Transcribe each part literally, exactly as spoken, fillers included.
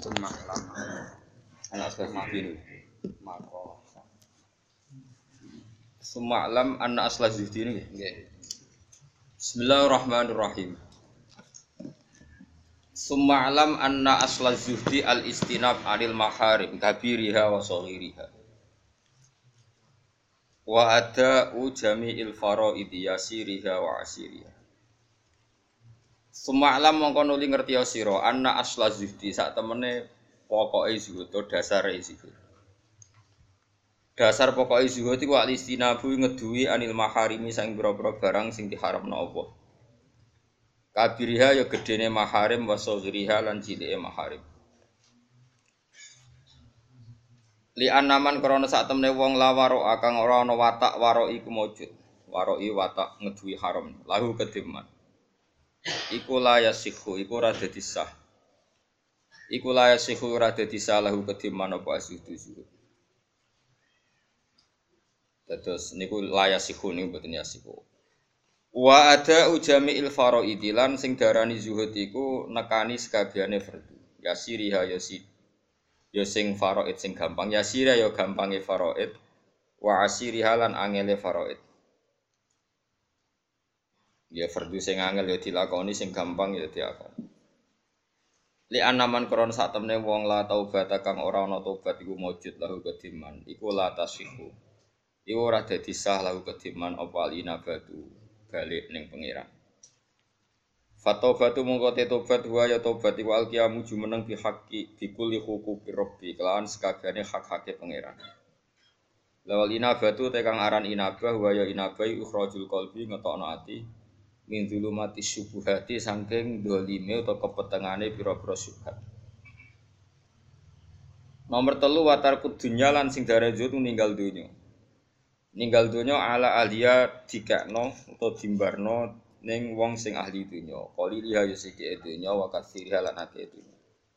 Semalam anak Asla-Zuhdi mako Semalam anak Asla-Zuhdi ini nggih. Bismillahirrahmanirrahim. Semalam anna Asla-Zuhdi al-istinab anil maharim kabiriha wa saghiriha wa ada'u jami'il faraidi yasiriha wa asiriha. Semalam mongko nuli ngerti sira anna Asla-Zuhdi sak temene pokoke zuhud to dasare zuhud. Dasar pokoke zuhud iku al-istinabu ngeduwi anil maharimi sang pira-pira barang sing diharamna Allah. Kabiriha ya gedene maharim wa saghiriha lan cilike maharim. Li anaman krana sak temene wong lawaro kang ora ana watak waro iku maujud. Waroi watak ngeduwi haram lahu kediman. Iku la yasihu iku ora dadi sah. Iku la yasihu ora dadi sah lahu kediman apa asyudu zuhud. Terus niku la yasihu niku mboten yasihu. Wa ada ujami il faraidi lan sing darani zuhud iku nekani sekabehane fardu. Yasiriha yasi ya sing faraid sing gampang, yasira ya gampange faraid, wa asiriha lan angele faraid. Ya fardu sing angel ya dilakoni, sing gampang ya dilakoni. Li anaman kron sak temne wong la taubat kang ora ana tobat iku maujud lahu kediman, iku la tasihu. Iku ora dadi sah lahu kediman apa alinabatu balik ning pangeran. Fatobatu mongko te tobat wa ya tobat iku alqiyamu jumeneng bi haqqi bi kulli huquqi rabbi kelawan sakabehane hak-hake pangeran. Lawal inabatu te kang aran inabah wa ya inabai ukhrajul qalbi ngetokno ati min zulumati syubhati saking dolime utawa kepetengane pira-pira syubhat. Nomor telu watarku dunya lan sing dare zuhud ninggal dunya. Ninggal dunya ala ahliya dikakno utawa dimbarno ning wong sing ahli dunya. Qali liha yusiki dunya wa katsiriha lan akeh dunya.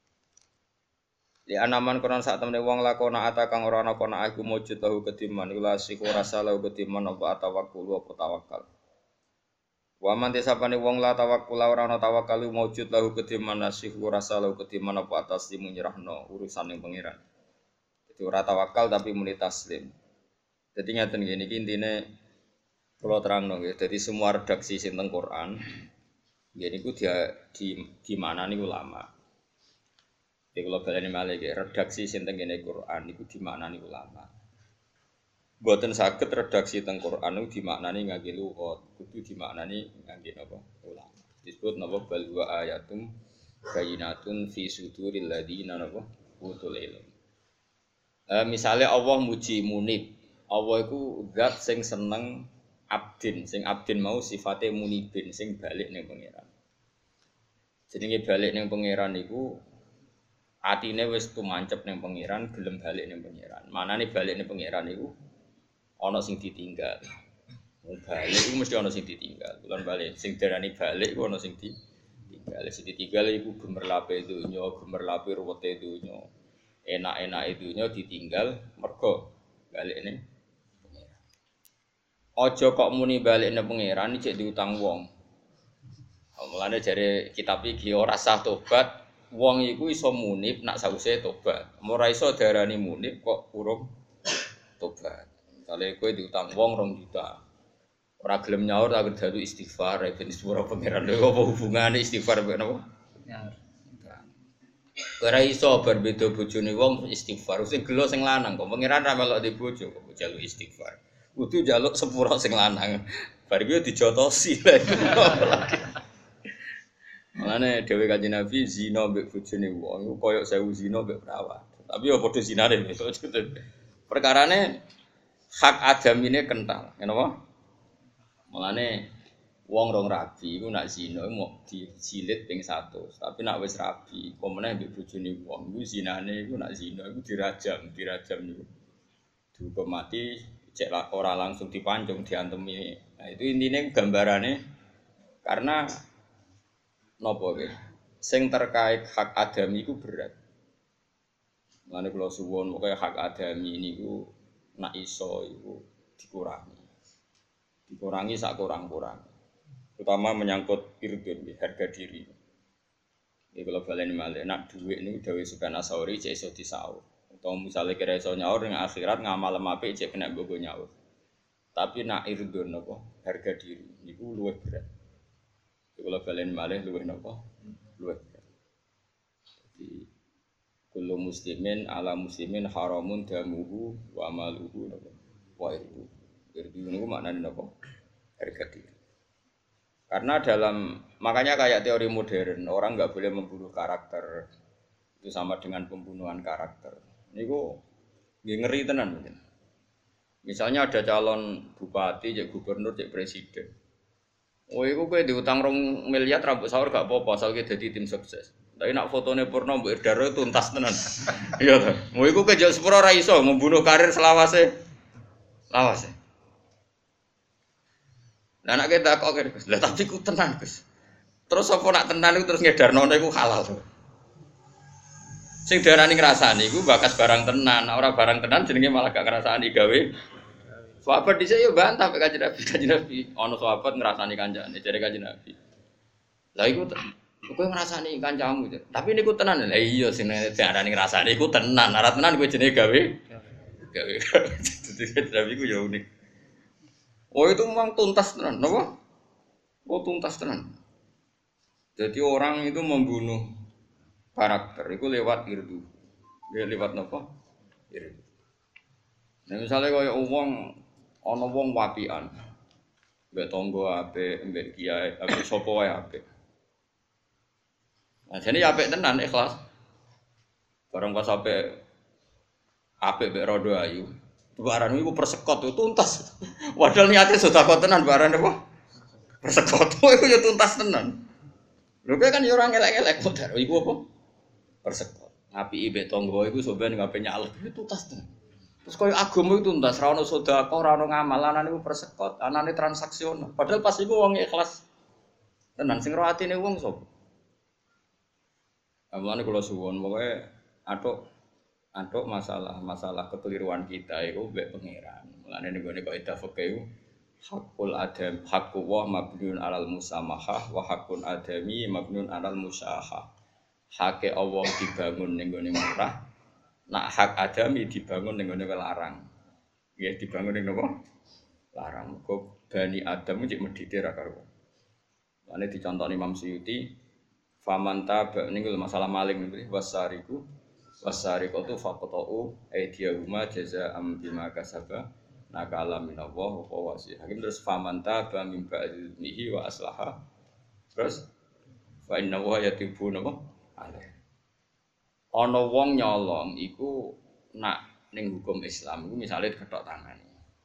Li anaman kono sak temene wong lakona ata kang ora ana kono iku mujud tahu kediman iku lasiku rasa lahu kediman apa tawakkul apa tawakal. Wa man tesapane wong la tawakkul ora ana tawakkal mujud lahu kediman lasiku rasa lahu kediman apa atas dimunyerahno urusan ning pangeran. Dadi ora tawakal tapi muni taslim. Dadi ngaten ngene iki intine kula terangno nggih. Dadi semua redaksi sing teng Quran nggih niku dia di di mana niku ulama. Iki kula baleni malih nggih, redaksi sing teng kene Quran niku di mana niku ulama. Mboten saged redaksi teng Quran niku dimaknani ngangge lughat, kudu dimaknani ngangge napa? Ulama. Disebut napa bal wa ayatum bayyinatun fi suduril ladina napa? Utul ilm. Eh misale Allah muji munib. Allah iku zat sing seneng abdin, sing abdin mau sifate munibin sing balik ning pangeran. Jenenge balik ning pangeran iku atine wis tumancep ning pangeran, gelem balik ning pangeran. Manane balik ning pangeran iku ana sing ditinggal. Wong balik iku mesti ana sing ditinggal. Bulan balik sing darani balik iku ana sing ditinggal. Sing ditinggal iku gemerlape donya, gemerlape ruwete donya. Enak-enake donya ditinggal mergo balik ning aja kok muni balik ning pangeran iki diutang wong. Mulane jare kitab iki ora sah tobat, wong iku iso munib nak sawise tobat. Ora iso darani munib kok urung tobat. Misale kowe diutang wong rong juta. Ora gelem nyaur tak kudu istighfar ben sepuro pangeran. Lha apa hubungane istighfar mbek napa? Nyaur. Ora iso berbeda bojone wong istighfar. Sing gelo sing lanang kok pangeran ra melok di bojo kok njaluk istighfar. Kudu njaluk sepuro sing lanang. Bar iki dijotosi lha. Mulane dhewe Kanjeng Nabi zina mbek bojone wong iku koyo sewu zina mbek perawat. Tapi ya padha zinane. Perkarane hak adamine kental, ngene apa? Mulane wong rong rabi iku nak zina mau dijilid ping seratus, tapi nak wis rabi, apa meneh mbek bojone wong iku zinane iku nak zina iku dirajam, dirajam niku. Dihukum mati, cek ora langsung dipancung diantemi. Nah, itu intine gambarane karena napa nggih? Sing terkait hak adami iku berat. Mulane kula suwun pokoke hak adami niku nak iso iku dikurangi. Dikurangi sak kurang-kurang. Terutama menyangkut irdun, harga diri. Iki kalau baleni malih nak dhuwit niku dawuh Sufyan Ats-Tsauri cek iso disaur. Utawa misale kira iso nyaur ning akhirat ngamal apik cek kena nggo nyaur. Tapi nak irdun napa harga diri niku luwih berat. Iki kalau baleni malih luwih napa? Luwih berat. Jadi kullu muslimin ala muslimin haramun damuhu wa amaluhu napa? Wa irdu. Irdu niku maknane napa? Harga diri. Karena dalam makanya kayak teori modern orang nggak boleh membunuh karakter itu sama dengan pembunuhan karakter. Niku ngeri tenan mungkin. Misalnya ada calon bupati, cek gubernur, cek presiden. Oh, iku kowe diutang rong miliar rambut sahur gak apa-apa asal kowe dadi tim sukses. Tapi nak fotone Purno mbok Irdaro tuntas tenan. Iya to. Mau iku kejak sepuro ora iso membunuh karir selawase. Lawase. Lah nek kita kok Gus. Lah tapi ku tenan Gus. Terus apa nak tenan iku terus ngedarno iku halal. Sing darani ngrasani iku bakas barang tenan, ora barang tenan jenenge malah gak ngrasani gawe. Sahabat dhisik yo bantah pek Kanjeng Nabi, Kanjeng Nabi ana sahabat ngrasani kancane jare Kanjeng Nabi. Lah iku kowe ngrasani kancamu, tapi niku tenan. Lah iya sing darani ngrasani iku tenan, ora tenan kowe jenenge gawe. Gawe. Dadi Kanjeng Nabi ku yo unik. Oh itu memang tuntas tenan, napa? Oh tuntas tenan. Jadi orang itu membunuh karakter itu lewat irdu. Dia lewat napa? Irdu. Nah misalnya kaya wong ana wong wapian. Mbek tangga apik, mbek kiai, mbek sapa wae apik. Nah jane apik tenan ikhlas. Barang pas apik apik mbek rodo ayu. Barang iku persekot itu tuntas. Padahal niate sedekah tenan barang apa? Persekot iku ya tuntas tenan. Lho kan ya ora ngelek-elek modar iku apa? Persekot. Ngapiki mbek tangga iku sampeyan ngape nyalek itu tuntas tenan. Terus koyo agama itu tuntas, ra ono sedekah, ora ono ngamal, anane iku persekot, anane transaksional. Padahal pas iku wong ikhlas tenan sing ro atine wong sapa? Amane kula suwun pokoke atuk Antuk masalah-masalah kekeliruan kita itu mbek pangeran. Mulane ning gone kaidah fikih iku hakul adam, hakku wa mabniun alal musamahah wa hakun adami mabniun alal musyahah. Hake Allah dibangun ning gone murah, nak hak adami dibangun ning gone larang. Nggih dibangun ning napa? Larang. Kok Bani Adam iki medhite ra karo. Mulane dicontoni Imam Suyuti, faman taba niku masalah maling niku wasariku wasariqatu faqta'u aydiyahuma jazaa'an bima kasaba nakala minallah wa wasi. Hakim terus faman taba min ba'dhihi wa aslaha. Terus fa inna wa yatibu napa? Ale. Ana wong nyolong iku nak ning hukum Islam iku misale diketok tangane.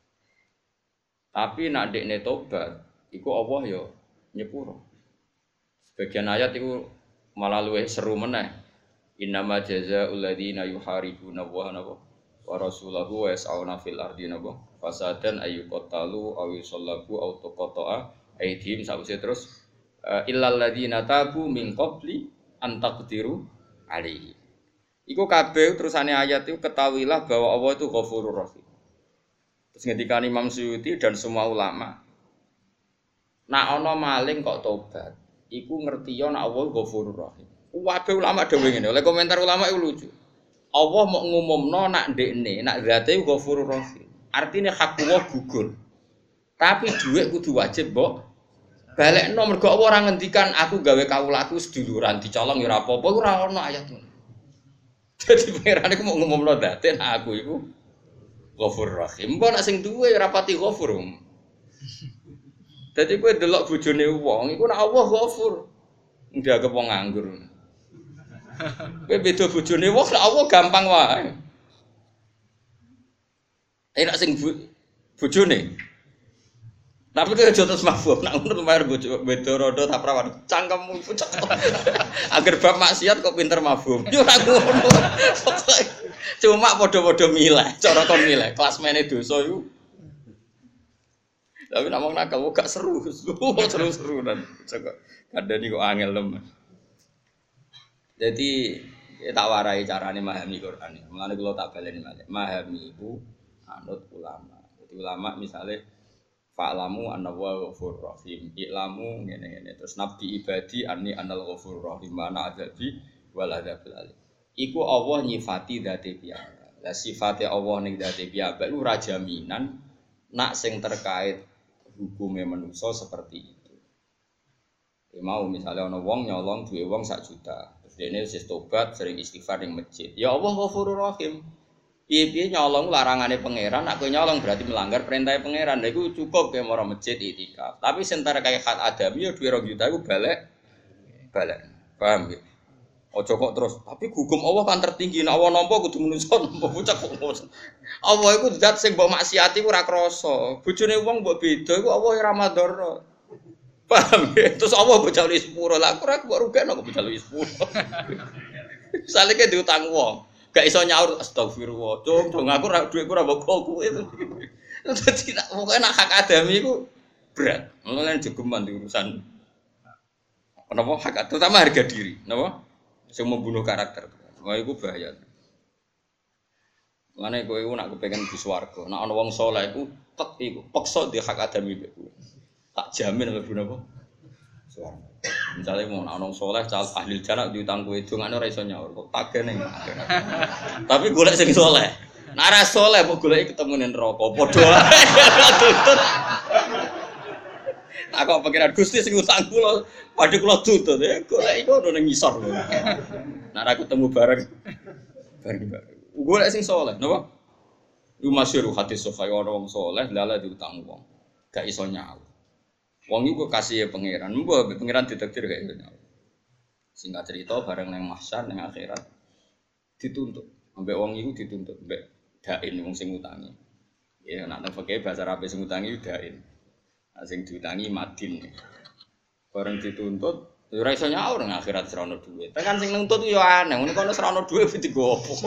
Tapi nak dekne tobat iku Allah ya nyepuro. Sebagian ayat iku malah luwih seru meneh. Innama jazaa'ul ladzina yuharibuna Allaha wa rasulahu wa yas'auna fil ardi napa fasadan ayyuqatalu aw yusallabu aw tuqata'a aydihim sawise terus illal ladzina tabu min qabli an taqdiru alaihi. Iku kabeh terusane ayat itu ketahuilah bahwa Allah itu Ghafurur Rahim. Terus ngendikan Imam Suyuti dan semua ulama, nak ana maling kok tobat, iku ngerti yo nak Allah Ghafurur Rahim. Wabe ulama dhewe ngene. Oleh komentar ulama itu lucu. Allah mau ngumumno nak ndekne, nak zate Ghafurur Rahim. Artine hak Allah gugur. Tapi dhuwit kudu wajib mbok balekno mergo Allah ora ngendikan aku gawe kawulaku seduluran dicolong ya ora apa-apa ora ono ayat ngono. Dadi pangeran iku mau ngumumno zate nak aku iku Ghafurur Rahim. Mbok nak sing duwe ora pati ghafur. Dadi kowe delok bojone wong iku nak Allah Ghafur. Ndianggep wong nganggur. Kowe beda bojone wong lak Allah gampang wae. Enak sing bojone. Tapi kowe aja terus mabuk, nak ngono bayar bojo beda rodo ta prawan. Cangkemmu pucet. Agar bab maksiat kok pinter mabuk. Yo ora ngono. Cuma padha-padha milih, cara kon milih klasmene dosa iku. Tapi nak wong nakal gak seru. Seru-seru dan kadang kok angel lem. Jadi ya tak warai carane memahami Quran. Mulane kula tak baleni malih. Memahami iku anut ulama. Jadi ulama misalnya Fa'lamu anna wa ghafurur rahim. I'lamu ngene-ngene terus nabi ibadi anni anal ghafurur rahim mana adzabi wal adzabil alim. Iku Allah nyifati dzate piyambak. Lah sifate Allah ning dzate piyambak iku ra jaminan nak sing terkait hukume manusa seperti itu. Ya mau misalnya ana wong nyolong duwe wong sak juta. Terus dene wis tobat sering istighfar ning masjid. Ya Allah Ghafurur Rahim. Piye-piye nyolong larangane pangeran, nak kowe nyolong berarti melanggar perintah pangeran. Lha iku cukup kowe mara masjid itikaf. Tapi sentara kaya hak adami ya duwe rong juta iku balik balik. Paham ya? Ojo kok terus, tapi hukum Allah kan tertinggi. Nek Allah nampa kudu menungso nampa bocah kok. Allah iku zat sing mbok maksiati ku ora krasa. Bojone wong mbok beda iku Allah ora madara. Paham ya? Terus Allah mbok jali sepuro. Lah aku ora mbok rugekno kok mbok jali sepuro. Salike diutang wong. Gak iso nyaur astagfirullah. Cung, cung aku ora dhuwitku ora mbok kowe itu. Dadi pokoke nak hak adami iku berat. Mulane jogeman di urusan. Kenapa hak terutama harga diri, napa? Sing membunuh karakter. Wah iku bahaya. Mane kowe iku nak kepengin di swarga, nek ana wong saleh iku tek iku peksa di hak adami mbek kowe. Tak jamin mlebu napa? Swarga. Misale mau ana wong saleh cal ahli jannah diutang kowe dongane ora iso nyaur kok tagih ning. Tapi golek sing saleh. Nek ora saleh kok goleki ketemu ning neraka padha wae tutut. Aku pikiran Gusti sing utang kula padhe kula tutut ya golek iku ono ning ngisor. Nek ora ketemu bareng bareng. Golek sing saleh napa? Iku masyhur hadis sahih ana wong saleh lala diutang wong. Gak iso nyaur. Wong iku kasih pangeran, mbok pangeran ditakdir gak iso nyaur. Singkat cerita bareng nang mahsyar nang akhirat dituntut. Ambek wong iku dituntut mbek dain wong sing utangi. Ya nek nang fikih bahasa Arab sing utangi dain. Sing diutangi madin. Bareng dituntut ora iso nyaur nang akhirat ora ono dhuwit. Tekan sing nuntut yo aneh, ngono kono ora ono dhuwit digo opo.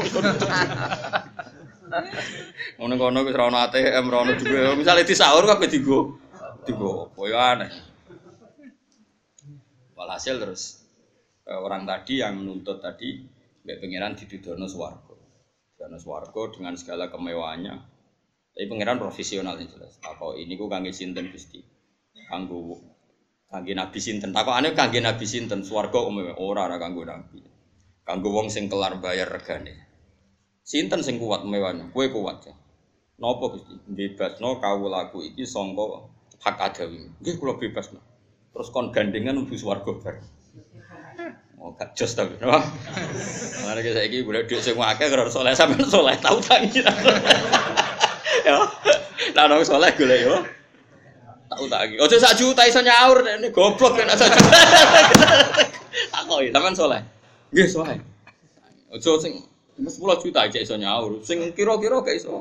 Ngono kono wis ora ono A T M, ora ono dhuwit. Misale disaur kabeh digo digo opo yo aneh. Walhasil terus orang tadi yang menuntut tadi mbek pangeran ditudono swarga. Ditudono swarga dengan segala kemewahannya. Tapi pangeran profesional yang jelas. Takok ini ku kangge sinten Gusti? Kanggo kangge nabi sinten? Takokane kangge nabi sinten? Swarga umum ora ora kanggo nabi. Kanggo wong sing kelar bayar regane. Sinten sing kuat mewahnya? Kowe kuat ya. Napa Gusti? Bebasno kawulaku iki sangka hak adawi. Nggih kula bebasno. Terus kon gandengan mlebu swarga bareng. Oh gak jos ta. Mare saiki golek dhuwit sing akeh karo saleh sampean saleh tau tangi. Ya, lah nang saleh golek yo. Tak utangi. Ojo sak juta iso nyaur nek goblok nek sak juta. Takoki sampean saleh. Nggih saleh. Ojo sing sepuluh juta aja iso nyaur. Sing kira-kira gak iso.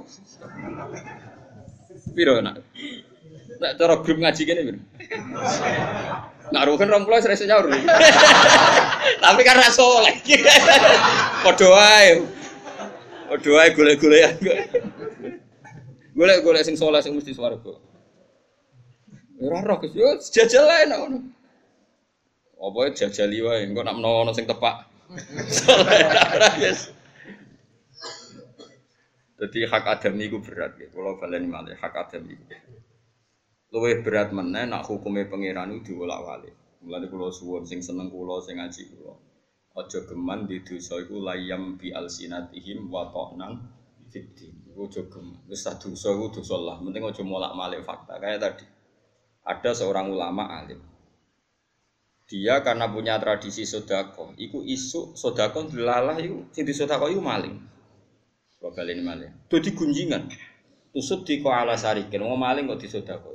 Piro nak? Nek cara grup ngaji kene piro? Nak rugen rong puluh iso nyaur. Tapi kan ra saleh. Padha wae. Padha wae golek-golekan. Golek-golek sing saleh sing mesti swarga. Ora roh Gus, yo jajal ae nek ngono. Apa jajali wae, engko nek menawa ana sing tepak. Dadi hak adami iku berat nggih, kula baleni malih hak adami iku. Luwih berat meneh nek hukume pangeran iku diwolak-walik. Mulane kula suwun sing seneng kula sing ngaji kula. Aja geman di dosa iku layam bi alsinatihim wa ta'nan fiddin. Ojo geman. Wis dosa iku dosa lah, penting aja molak-malik fakta. Kayak tadi. Ada seorang ulama alim. Dia karena punya tradisi sedekah, iku isu sedekah dilalah iku sing disedekah iku maling. Bakal ini maling. Dadi gunjingan. Tusut di ko ala sarikin, wong maling kok disedekah.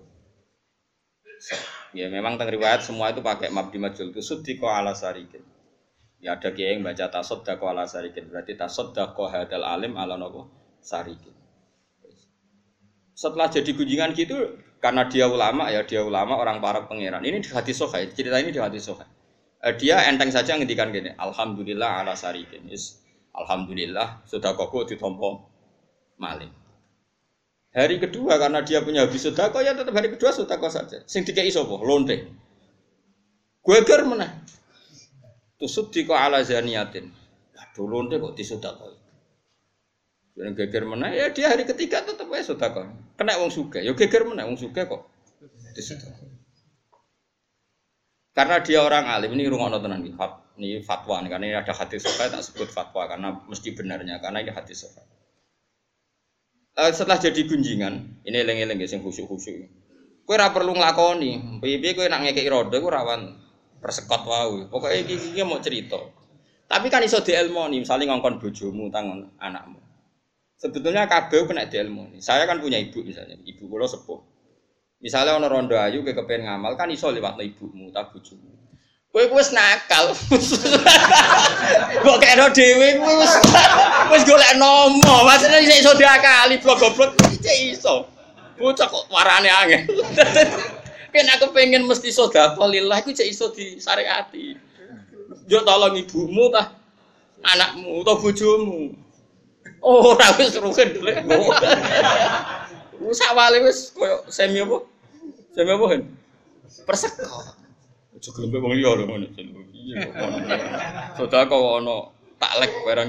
Ya memang teng riwayat semua itu pakai mabdi majul. Tusut di ko ala sarikin. Ya ada kiai yang baca tasaddaqo ala sarikin. Berarti tasaddaqo hadal alim ala nopo sarikin. Setelah jadi gunjingan gitu, karena dia ulama ya dia ulama orang para pangeran. Ini di hadis sahih, cerita ini di hadis sahih. Eh, dia enteng saja ngendikan gini, alhamdulillah ala sarikin. Is, alhamdulillah sudah koko ditompo maling. Hari kedua karena dia punya habis sedekah ya tetap hari kedua sedekah saja. Sing dikei sapa? Lonte. Gueger meneh. Tusuk diko ala zaniyatin. Aduh lonte kok disedekah. Yang geger meneh ya dia hari ketiga tetap wae sedekah. Kena wong sugih, ya geger meneh wong sugih kok Karena dia orang alim ini rungokno tenan iki. Ini fatwa nih, karena ini ada hadis sahih tak sebut fatwa karena mesti benarnya karena ini hadis sahih. Uh, setelah jadi gunjingan, ini eling-eling sing khusyuk-khusyuk. Kowe ora perlu nglakoni, piye-piye kowe nak ngekeki rodo iku rawan persekot wae. Pokoke iki iki mau cerita. Tapi kan iso dielmoni, misalnya ngongkon bojomu tangon anakmu. Sebetulnya kabeh kena dielmoni. Saya kan punya ibu misalnya, ibu kula sepuh. Misalnya ana rondo ayu kowe kepen ngamal kan iso liwatno ibumu ta bojomu. Kowe wis nakal. Mbok kena dhewe kowe wis wis golek nomo, maksudnya iso diakali blok-blok iki iso. Bocah kok warane angel. Ken aku pengen mesti sedekah lillah iku cek iso disyariati. Yo tolong ibumu tah anakmu utawa bojomu. Oh, ora wis rugen dulek. Wis awale wis koyo semi apa? Semi apa kan? Persekot. Aja gelem wong liya lho ngono. Iya kok. Sedekah kok ono taklek barang.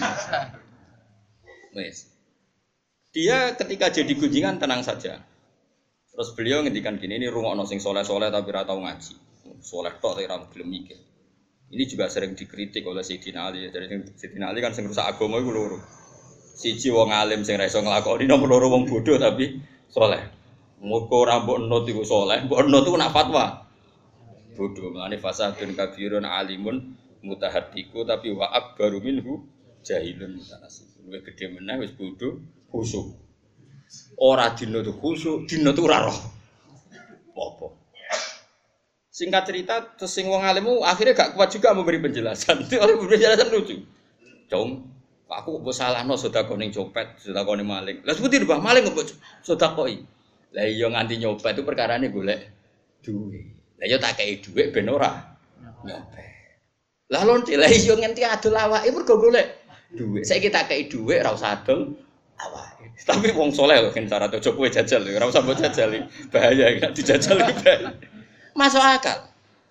Wis. Dia ketika jadi gunjingan tenang saja. Terus beliau ngendikan gini, ini rungokno sing soleh-soleh tapi ora tau ngaji. Soleh tok tapi ora gelem mikir. Ini juga sering dikritik oleh Sayyidina Ali. Jadi Sayyidina Ali kan sing rusak agama iku loro. Siji wong alim sing ra iso nglakoni, nomor loro wong bodoh tapi soleh. Muga ora mbok nut iku soleh, mbok nut iku nak fatwa. Bodoh, mlane fasadun kabirun alimun mutahaddiku tapi wa akbaru minhu jahilun mutanasib. Luwih gedhe meneh wis bodoh, khusyuk. Ora dina tu khusyuk, dina tu ora roh. Apa? Singkat cerita, terus sing wong alimmu akhirnya gak kuat juga memberi penjelasan. Itu oleh penjelasan lucu. Cung, aku kok salahno sedekah ning copet, sedekah ning maling. Lah sebuti mbah maling kok sedekah. Lah iya nganti nyopet itu perkarane golek duit. Lah yo tak kei dhuwit ben ora nyopet. Lah lonte lah yo ngenti adol awake mergo golek dhuwit. Saiki tak kei dhuwit ora usah adol awake. Tapi wong saleh lho kan syarat ojo kowe jajal lho, ora usah mbok jajal. Bahaya nek dijajal iki. Masuk akal.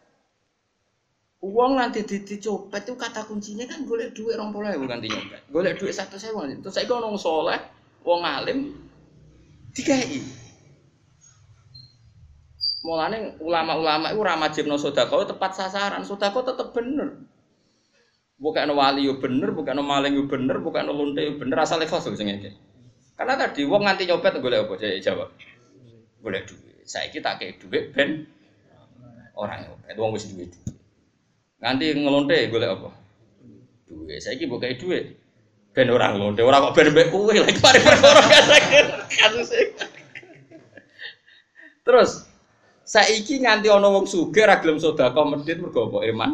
Wong nanti dicopet itu kata kuncinya kan golek dhuwit dua puluh ribu ganti nyopet. Golek dhuwit seratus ribu. Terus saiki ono wong saleh, wong alim dikai. Mulane ulama-ulama itu ora majibno sedekah tepat sasaran. Sedekah tetep bener. Bukan wali yo bener, bukan maling yo bener, bukan lonte yo bener, asal ikhlas sing ngene. Karena tadi wong nganti nyopet golek apa? Saya jawab. Golek duit. Saiki tak kei duit ben ora nyopet. Wong wis duwe duit. Nganti ngelonte golek apa? Duit. Saiki mbok kei duit ben ora ngelonte, ora kok ben mbek kowe lagi mari perkara kasus. Terus saiki nganti ana wong sugih ra gelem sedekah medhit mergo apa? Iman.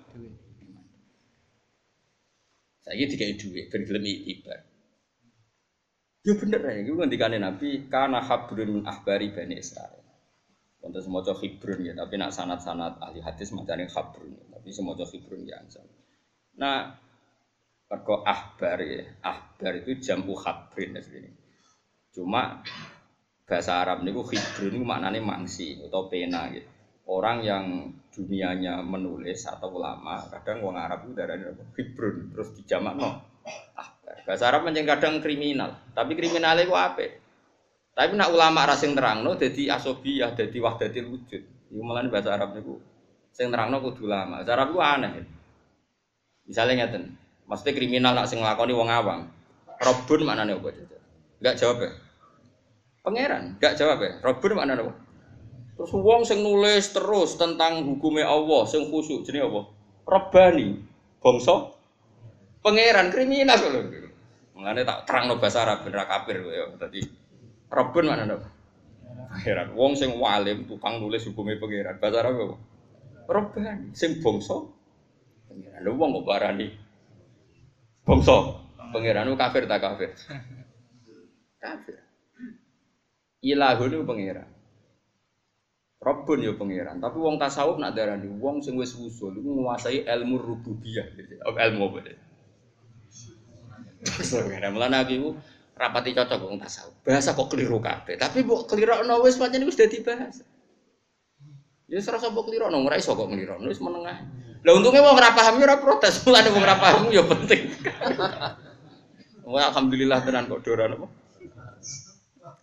Saiki dikai dhuwit ben gelem ibadah. Yo bener ae iku ngendikane Nabi kana habrun min ahbari Bani Israil. Wonten semaca khibrun ya, tapi nak sanad-sanad ahli hadis macane habrun, tapi semaca khibrun ya ansal. Nah, perko ahbar ya, ahbar itu jamu habrin asline. Cuma bahasa Arab niku khibrun niku maknane mangsi atau pena gitu. Orang yang dunianya menulis atau ulama, kadang wong Arab itu darane khibrun terus dijamakno ahbar. Bahasa Arab pancen kadang kriminal, tapi kriminale iku apik. Tapi nak ulama ra sing terangno dadi asobiyah, dadi wahdatil wujud. Iku malane bahasa Arab niku sing terangno kudu ulama. Bahasa Arab ku aneh. Misale ngeten, mesti kriminal nak sing nglakoni wong awam. Robun maknane apa? Enggak jawab ya. Pangeran, enggak jawab ya. Robun maknane apa? Terus wong sing nulis terus tentang hukume Allah, sing khusyuk jenenge apa? Rabbani. Bangsa pangeran kriminal lho. Mulane tak terangno bahasa Arab ben ra kafir ya. Dadi Robun maknane apa? Pangeran. Wong sing walim tukang nulis hukume pangeran. Bahasa Arab apa? Rabbani. Sing bangsa pangeran. Lha wong kok barani bangsa pangeran ku kafir ta kafir? Kafir. Ilahun itu pangeran. Rabbun ya pangeran, tapi wong tasawuf nak darani wong sing wis usul iku nguasai ilmu rububiyah, ilmu apa deh. Sebenarnya mulane aku rapati cocok wong tasawuf. Bahasa kok keliru kabeh, tapi mbok kelirokno wis pancen wis dadi bahasa. Ya ora usah mbok kelirokno, ora iso kok nglirokno wis menengah. Lah untunge wong ora paham ora protes, mulane wong ora paham ya penting. Wah alhamdulillah tenan kok doran apa.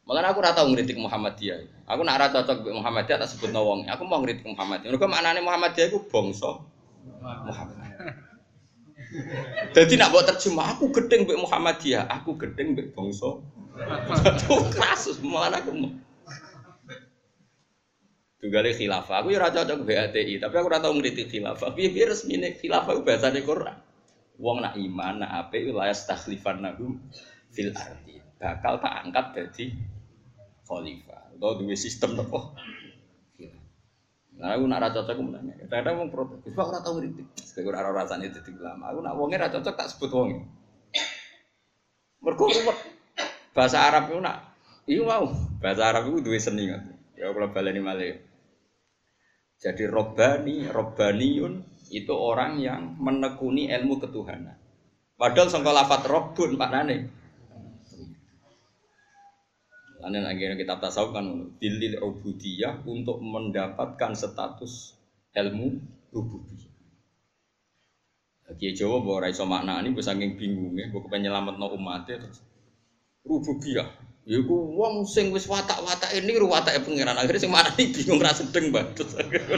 Malah aku ora tau ngritik Muhammadiyah. Aku nak ora cocok mbek Muhammadiyah tak sebutno wong. Aku mau ngritik Muhammadiyah. Mergo maknane Muhammadiyah iku bangsa Muhammad. Jadi nak buat terjemah aku gedeng mbek Muhammadiyah, aku gedeng mbek bangsa. Satu kasus malah aku. Tugale khilafah. Aku ya ora cocok B A T I, tapi aku ora tau ngritik khilafah. Piye-piye resmine khilafah ku bahasane Quran. Wong nak iman, nak apik la yastakhlifannahum fil ardi. Bakal tak angkat dadi khalifah. Atau duwe sistem apa? Nah, aku nak ra cocok menanya. Kadang wong protes. Wis ora tau ngritik. Sing ora ora rasane dadi ulama. Aku nak wonge ra cocok tak sebut wonge. Mergo ruwet. Bahasa Arab iku nak iya mau. Bahasa Arab iku duwe seni kan. Ya kula baleni malih. Jadi robbani, robbaniyun itu orang yang menekuni ilmu ketuhanan. Padahal sangka lafaz robbun maknane. Lain akhirnya kitab tasawuf kan dilil ubudiyah untuk mendapatkan status ilmu rububiyah. Kiai Jawa bahwa raiso maknani bisa saking bingungnya, bahwa kepengen nyelametno umatnya terus rububiyah. Ya ku wong sing wis watak-watake niru watake pangeran. Akhire sing marani bingung ra sedeng banget.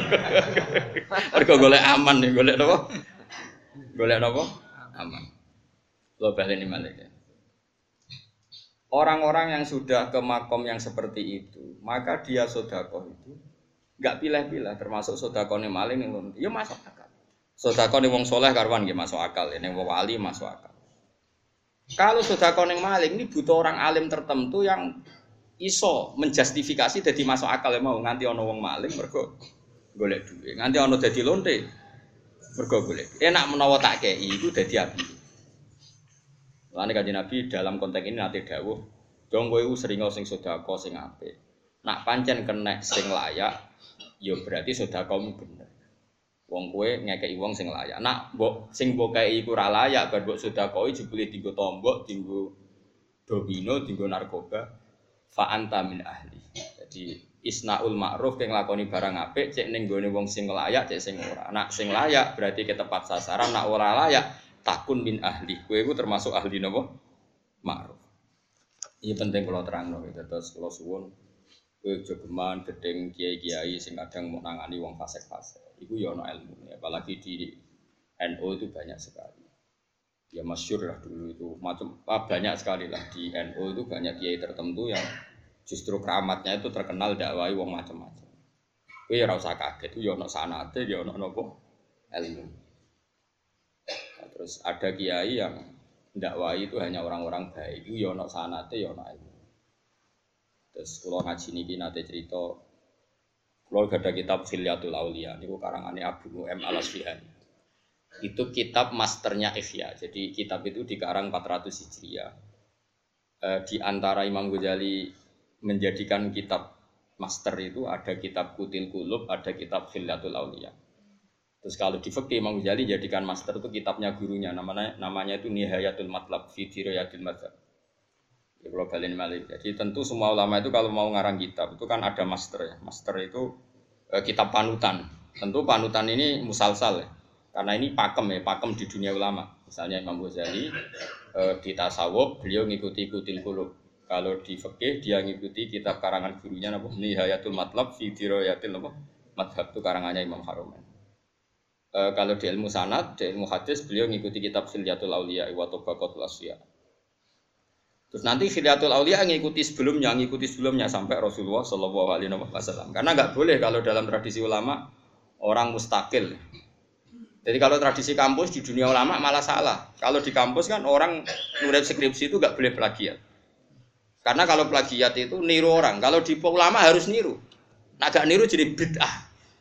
Mergo golek aman nih, golek napa? Golek napa? Aman. Lo baleni malih. Orang-orang yang sudah ke makom yang seperti itu, maka dia sedekah itu enggak pilih-pilih, termasuk sedekahne maling yang ya masuk akal. Sedekahne wong saleh karuan nggih masuk akal, nek wong wali masuk akal. Kalau sedekah ning maling ini butuh orang alim tertentu yang iso menjustifikasi dadi masuk akal mau nganti ana wong maling mergo golek duit. Nganti ana dadi lonte mergo golek. Enak menawa tak kei iku dadi api. Lan Kanjeng Nabi dalam konteks ini nate dawuh, "Dong kowe iku sering sing sedekah sing apik. Nak pancen kenek sing layak, ya berarti sedekahmu bener. Wong kowe ngekeki wong sing layak. Nak mbok sing mbok kei iku ora layak, bar mbok sedekahi jebule dienggo tombok, dienggo domino, dienggo narkoba, fa anta min ahli. Jadi isnaul ma'ruf kang nglakoni barang apik cek ning gone wong sing layak, cek sing ora. Nak sing layak berarti ketepat sasaran, nak ora layak takun min ahli. Kowe iku termasuk ahli napa? Ma'ruf. Iki penting kula terangno gitu. Terus kula suwun kowe jogeman gedeng kiai-kiai sing kadang mau nangani wong fasik-fasik. Iku ya ana ilmune, apalagi di N U itu banyak sekali. Ya masyhur lah dulu itu macam ah, banyak sekali lah di N U itu banyak kiai tertentu yang justru keramatnya itu terkenal dakwai wong macam-macam. Kowe ya ora usah kaget, itu ya ana sanate, ya ana napa ilmu. Nah, terus ada kiai yang dakwai itu hanya orang-orang baik, itu ya ana sanate, ya ana ilmu. Terus kula ngaji niki nate cerita kalau ada kitab Khilyatul Auliya, ini karangane Abu Nu'aim Al-Asfihani. Itu kitab masternya Ihya. Jadi kitab itu dikarang empat ratus Hijriah. E, di antara Imam Ghazali menjadikan kitab master itu ada kitab Kutil Qulub, ada kitab Khilyatul Auliya. Terus kalau di fikih Imam Ghazali jadikan master itu kitabnya gurunya, namanya namanya itu Nihayatul Matlab fi Dirayatil Madzhab. Ya, kalau balen malih. Jadi tentu semua ulama itu kalau mau ngarang kitab itu kan ada master ya. Master itu eh, kitab panutan. Tentu panutan ini musalsal ya. Karena ini pakem ya, pakem di dunia ulama. Misalnya Imam Ghazali eh, di tasawuf beliau ngikuti Kutil Qulub. Kalau di fikih dia ngikuti kitab karangan gurunya napa Nihayatul Matlab fi Dirayatil Madzhab itu karangannya Imam Harumain. Eh, kalau di ilmu sanad, di ilmu hadis beliau ngikuti kitab Khilyatul Auliya wa Tabaqatul Asfiya. Terus nanti Khilyatul Auliya ngikuti sebelumnya, ngikuti sebelumnya sampai Rasulullah Shallallahu Alaihi Wasallam. Karena nggak boleh kalau dalam tradisi ulama orang mustakil. Jadi kalau tradisi kampus di dunia ulama malah salah. Kalau di kampus kan orang nulis skripsi itu nggak boleh plagiat. Karena kalau plagiat itu niru orang. Kalau di ulama harus niru. Nah gak niru jadi bid'ah.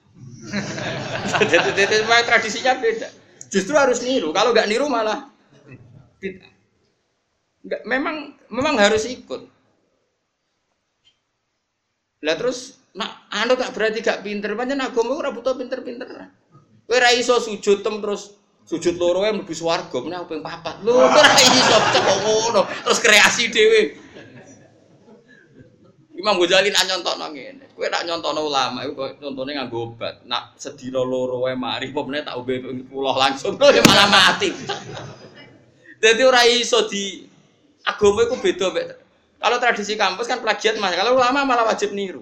Jadi tradisinya beda. Justru harus niru. Kalau nggak niru malah bid'ah. Enggak, memang memang harus ikut. Lah terus nak anu gak berarti gak pinter, pancen agama ora butuh pinter-pinter. Kowe ra iso sujud tem terus sujud loro ae mlebu swarga, meneh ping papat. Lho ora iso kok ngono, terus kreasi dhewe. Imam Ghazali nak nyontokno ngene. Kowe nak nyontokno ulama iku contone nganggo obat. Nak sedina loro ae mari apa meneh tak ombe puluh langsung malah mati. Dadi ora iso di agama itu beda mek Kalau tradisi kampus kan plagiat mas, kalau ulama malah wajib niru.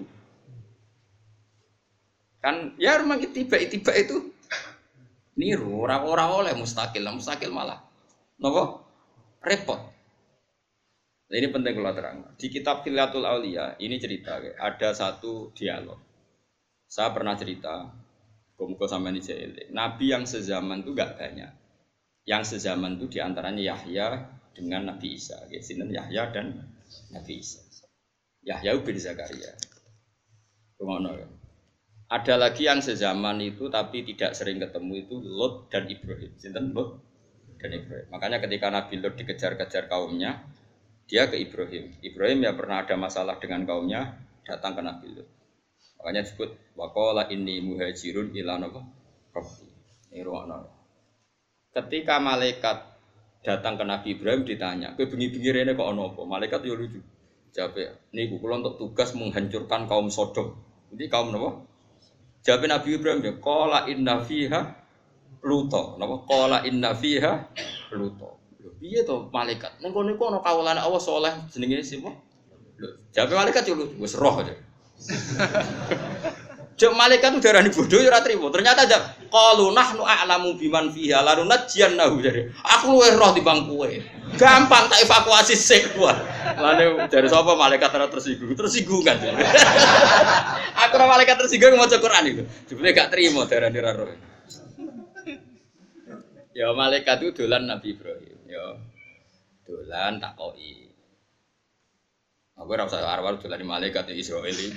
Kan ya memang tiba-tiba itu niru orang-orang oleh mustakil, mustakil malah nopo repot. Nah, ini penting kalau terang. Di kitab Khilatul Aulia ini cerita ada satu dialog. Saya pernah cerita, muka sama ini jahil. Nabi yang sezaman itu gak banyak. Yang sezaman itu diantaranya Yahya dengan Nabi Isa. Sinten Yahya dan Nabi Isa. Yahya bin Zakaria. Rumono ya. Ada lagi yang sezaman itu tapi tidak sering ketemu itu Lot dan Ibrahim. Sinten Lot dan Ibrahim. Makanya ketika Nabi Lot dikejar-kejar kaumnya, dia ke Ibrahim. Ibrahim ya pernah ada masalah dengan kaumnya, datang ke Nabi Lot. Makanya disebut waqala inni muhajirun ila rabbi. Ini rumono. Ketika malaikat datang ke Nabi Ibrahim ditanya, "Kowe bengi-bengi rene kok ana apa?" Malaikat yo lucu. Jawab, "Niku kula untuk tugas menghancurkan kaum Sodom." Jadi kaum napa? Jawab Nabi Ibrahim ya, qala inna fiha luto. Napa? Qala inna fiha luto. Lho piye to malaikat? Ning kono iku ana kawulane Allah saleh jenenge sapa? Lho, jawab malaikat yo wis roh aja. Jok malaikat itu darani bodoh ya ora trimo. Ternyata jawab qalu nahnu a'lamu biman fiha la nunajjiyannahu jadi. Aku luwih roh timbang kowe. Gampang tak evakuasi sik kuwi. Lane dari sapa malaikat ora tersinggung. Tersinggung kan. Aku ora malaikat tersinggung maca Quran itu. Jebule gak trimo darani ra roh. Ya malaikat itu dolan Nabi Ibrahim. Ya dolan takoki. Aku ora usah arwah dolan malaikat Israil iki.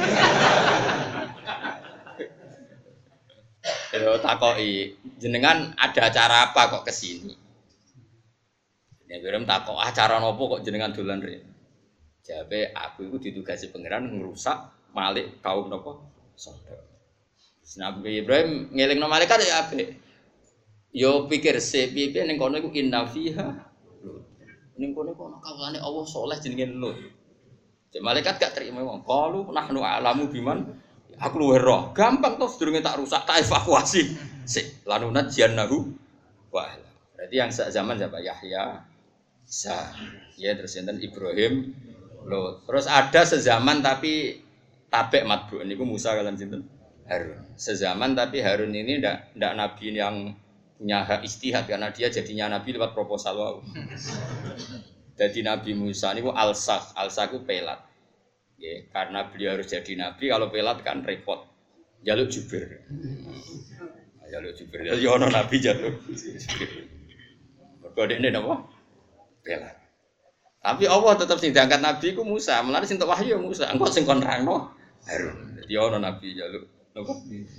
Yo takoki, jenengan ada acara apa kok kesini? Ya Ibrahim takok acara nopo kok jenengan dolan rene? Jawabe aku itu ditugasi pangeran ngerusak Malik kaum nopo? Sodom. Nabi Ibrahim ngelingno malaikat ya apik. Yo pikir se piye ning kono iku inna fiha. Ning kono iku ana kawulane Allah saleh jenenge Lut. Cek malaikat gak terima wong. Qalu nahnu a'lamu biman. Aku luwih roh. Gampang toh sedurunge tak rusak, tak evakuasi. Sik, lanunat jannahu wa. Berarti yang sak zaman siapa? Yahya, Isa. Ya terus enten Ibrahim, Lot. Terus ada sezaman tapi tabek matbu niku Musa kalian sinten? Harun. Sezaman tapi Harun ini ndak ndak nabi yang punya hak istihad karena dia jadinya nabi lewat proposal wau. Jadi Nabi Musa niku alsaq, alsaq ku pelat. Ya, karena beliau harus jadi nabi kalau pelat kan repot. Jaluk jubir. Jaluk jubir. Ya ono nabi jaluk jubir. Mergo dekne napa? Pelat. Tapi Allah tetap sing diangkat nabi ku Musa, mulane sing tok wahyu Musa. Engko sing kon nerangno Harun. Dadi ono nabi jaluk napa?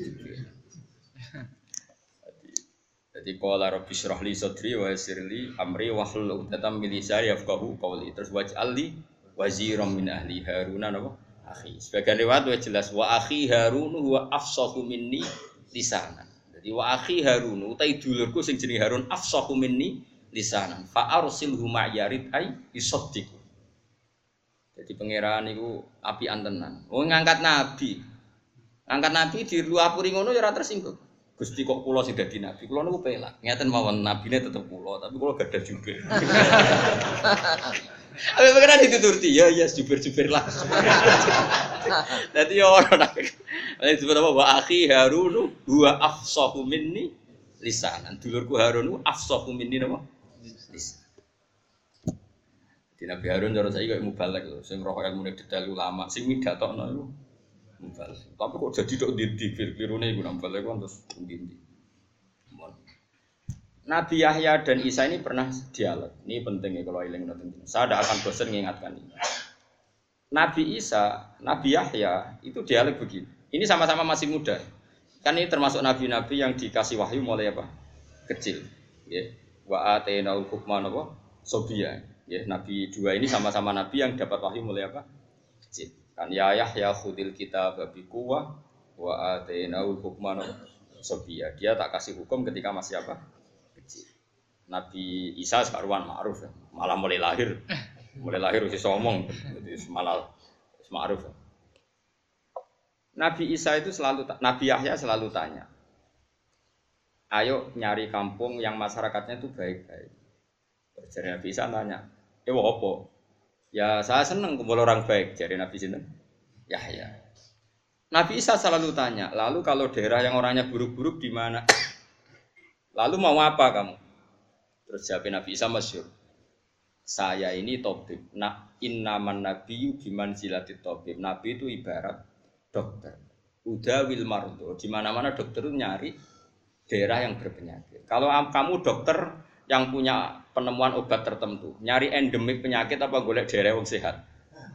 Jadi qala rabbi shrah li sadri wa yassir li amri wahlul 'uqdatam min lisani yafqahu qawli. Terus waj'al li waziran min ahli Harun napa? Akhi. Sebagian riwayat wa jelas wa akhi Harun huwa afsahu minni lisanan. Jadi wa akhi Harun utai dulurku sing jenenge Harun afsahu minni lisanan. Fa arsilhu ma'yarid ay isaddiq. Jadi pangeran niku apian tenan. Wong ngangkat nabi. Ngangkat nabi di luapuri ngono ya ora tersinggung. Gusti kok kula sing dadi nabi, kula niku pelak. Ngeten mawon nabine tetep kula, tapi kula gadah jubir. Ape pengen dituturti, ya ya jubir-jubir lah. Dadi yo ora nabi. Nek disebut apa wa akhi Harun huwa afsahu minni lisanan. Dulurku Harun ku afsahu minni napa? Lisan. Di Nabi Harun cara saiki kok mubalek lho, sing roh ilmu detail ulama, sing midatokno iku mubalek. Tapi kok jadi tok ndi klirune iku mubalek kok terus ndi. Nabi Yahya dan Isa ini pernah dialog. Ini penting ya kalau eling ngoten. Saya tidak akan bosan mengingatkan ini. Nabi Isa, Nabi Yahya itu dialog begini. Ini sama-sama masih muda. Kan ini termasuk nabi-nabi yang dikasih wahyu mulai apa? Kecil. Ya. Wa atainaul hukma napa? Sobia. Ya, nabi dua ini sama-sama nabi yang dapat wahyu mulai apa? Kecil. Kan ya Yahya khudil kitab bi quwwah wa atainaul hukma napa? Sobia. Dia tak kasih hukum ketika masih apa? Nabi Isa sekaruan ma'ruf ya. Malah mulai lahir. Mulai lahir wis ngomong, jadi malah ma'ruf. Ya. Nabi Isa itu selalu Nabi Yahya selalu tanya. Ayo nyari kampung yang masyarakatnya itu baik-baik. Terus Nabi Isa tanya, "Eh apa?" Ya saya senang kumpul orang baik dari Nabi sinten? Yahya. Nabi Isa selalu tanya, lalu kalau daerah yang orangnya buruk-buruk di mana? Lalu mau apa kamu? Terus jawab Nabi Isa masyhur. Saya ini tabib. Nah, innaman nabiyyu biman silatit tabib. Nabi itu ibarat dokter. Udah wil mardo. Di mana-mana dokter itu nyari daerah yang berpenyakit. Kalau kamu dokter yang punya penemuan obat tertentu, nyari endemik penyakit apa golek daerah yang sehat?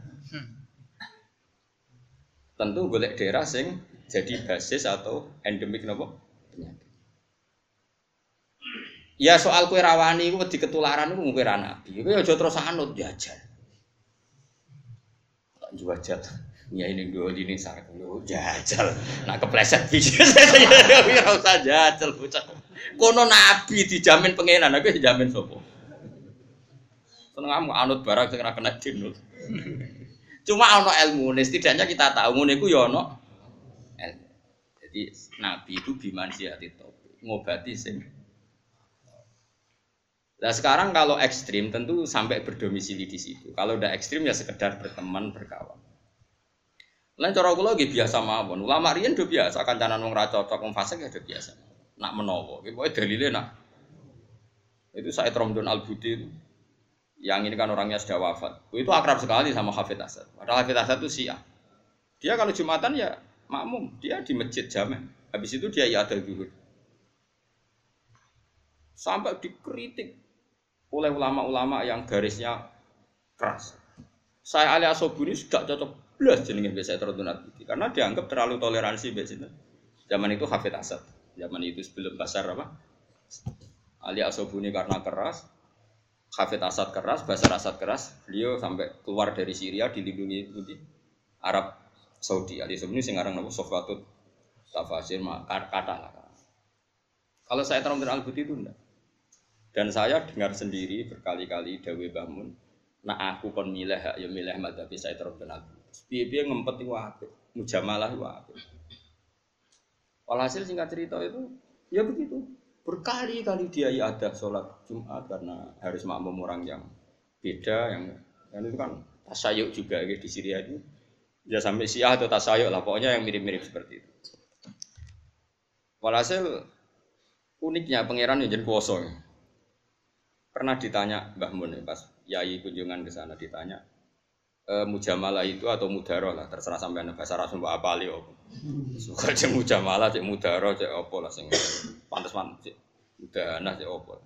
Tentu golek daerah sing jadi basis atau endemik nopo penyakit. Ya soal kue rawani itu di ketularan itu mungkin nabi. Itu aja terus anut jajal. Tak jajal. Ya ini dua ini sarang lu jajal. Nak kepleset bisnis saya ora usah jajal bocah. Kono nabi dijamin pengenan, aku dijamin sapa? Seneng kamu anut barang sing ora kena dinut. Cuma ana ilmune, setidaknya kita tahu ngene iku ya ana ilmu. Jadi nabi itu bimansiati topik, ngobati sing. Nah sekarang kalau ekstrim tentu sampai berdomisili di situ. Kalau udah ekstrim ya sekedar berteman, berkawan. Lain cara kula nggih biasa mawon. Ulama riyen do biasa kancanan wong ra cocok wong fasik ya do biasa. Nak menawa, iki pokoke dalile nak. Itu Said Romdon Al-Budi itu yang ini kan orangnya sudah wafat. Itu akrab sekali sama Hafidz Asad. Padahal Hafidz Asad itu Syiah. Dia kalau Jumatan ya makmum, dia di masjid jamek. Habis itu dia ya ada zuhur. Sampai dikritik oleh ulama-ulama yang garisnya keras. Saya Ali Asobuni sudah cocok belas jenenge biasa Romdon Al-Budi karena dianggap terlalu toleransi biasanya. Zaman itu Hafidz Asad. Zaman itu sebelum Basar apa? Ali Asobuni karena keras, Hafidz Asad keras, Basar Asad keras, beliau sampai keluar dari Syria dilindungi di Arab Saudi. Ali Asobuni sing aran napa Sofwatut Tafasir kata lah. Kalau saya Romdon Al-Budi itu enggak. Dan saya dengar sendiri berkali-kali dawuh Mbah Mun, nak aku kon milih ya milih madzhab Said Romdon Al-Budi. Piye-piye ngempet iku apik, mujamalah iku apik. Walhasil singkat cerita itu, ya begitu. Berkali-kali dia ya ada sholat Jumat karena harus makmum orang yang beda, yang dan itu kan tasyayuk juga gitu, di Syria itu. Ya sampai Syiah atau tasyayuk lah, pokoknya yang mirip-mirip seperti itu. Walhasil uniknya pangeran yang jadi kuoso. Pernah ditanya Mbah Mun pas Yai kunjungan ke sana ditanya, e, mujamalah itu atau mudaroh lah, terserah sampean bahasa Arab mbok apali opo. Suka cek mujamalah, cek mudaroh, cek opo lah sing pantes-pantes cek mudanah cek opo.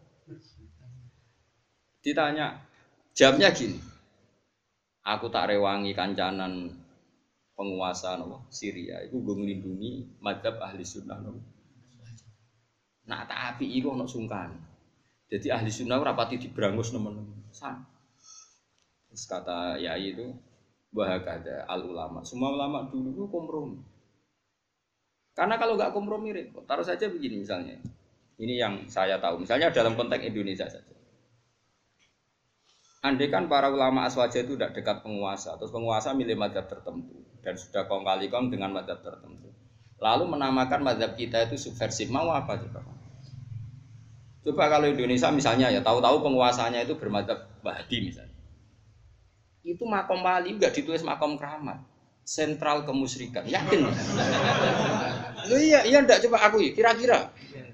Ditanya, jawabnya gini. Aku tak rewangi kancanan penguasa nopo Syria iku nggo nglindungi madzhab ahli sunnah nopo. Nak tak apiki iku ono sungkan. Jadi ahli sunnah ora pati dibrangus nemen-nemen. Terus kata Yai itu bahagada al ulama. Semua ulama dulu itu kompromi. Karena kalau nggak kompromi repot. Taruh saja begini misalnya. Ini yang saya tahu. Misalnya dalam konteks Indonesia saja. Andai kan para ulama aswaja itu tidak dekat penguasa, terus penguasa milih mazhab tertentu dan sudah kong kali kong dengan mazhab tertentu. Lalu menamakan mazhab kita itu subversif. Mau apa coba? Coba kalau Indonesia misalnya ya tahu-tahu penguasanya itu bermadzhab Wahabi misalnya. Itu makom wali enggak ditulis makom keramat. Sentral kemusyrikan. Yakin? Lu iya, iya enggak coba aku kira-kira.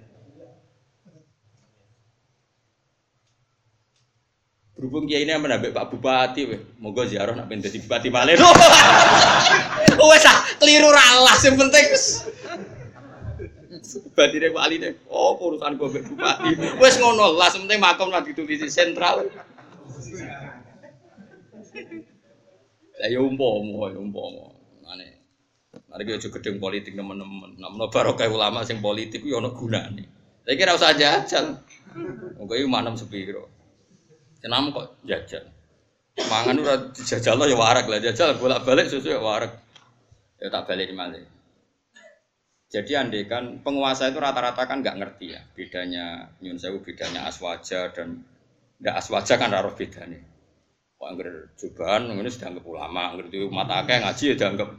Berhubung kiai ini menambah Pak Bupati, moga ziarah nak pengen jadi bupati malih. Wes ah, keliru ralas yang penting. Bupati deh Pak Ali deh. Oh urusan gue bupati. Wes ngono lah, penting makom lah ditulis sentral. Lah ya umpomo, ya umpomo. Mane. Mari kita gedeng politik teman-teman. Namanya barokah ulama sing politik ku ya ono gunane. Saya kira usah jajal. Monggo iki manem sepiro. Senam kok jajal. Mangan ora dijajal ya warak lah jajal bolak-balik susu ya warak. Ya tak balik malih. Jadi andaikan penguasa itu rata-rata kan enggak ngerti ya bedanya nyun sewu bedanya aswaja dan enggak aswaja kan ora bedane. Wah, angger jubahan ngene sudah anggap ulama, ngerti umat akeh ngaji ya dianggap.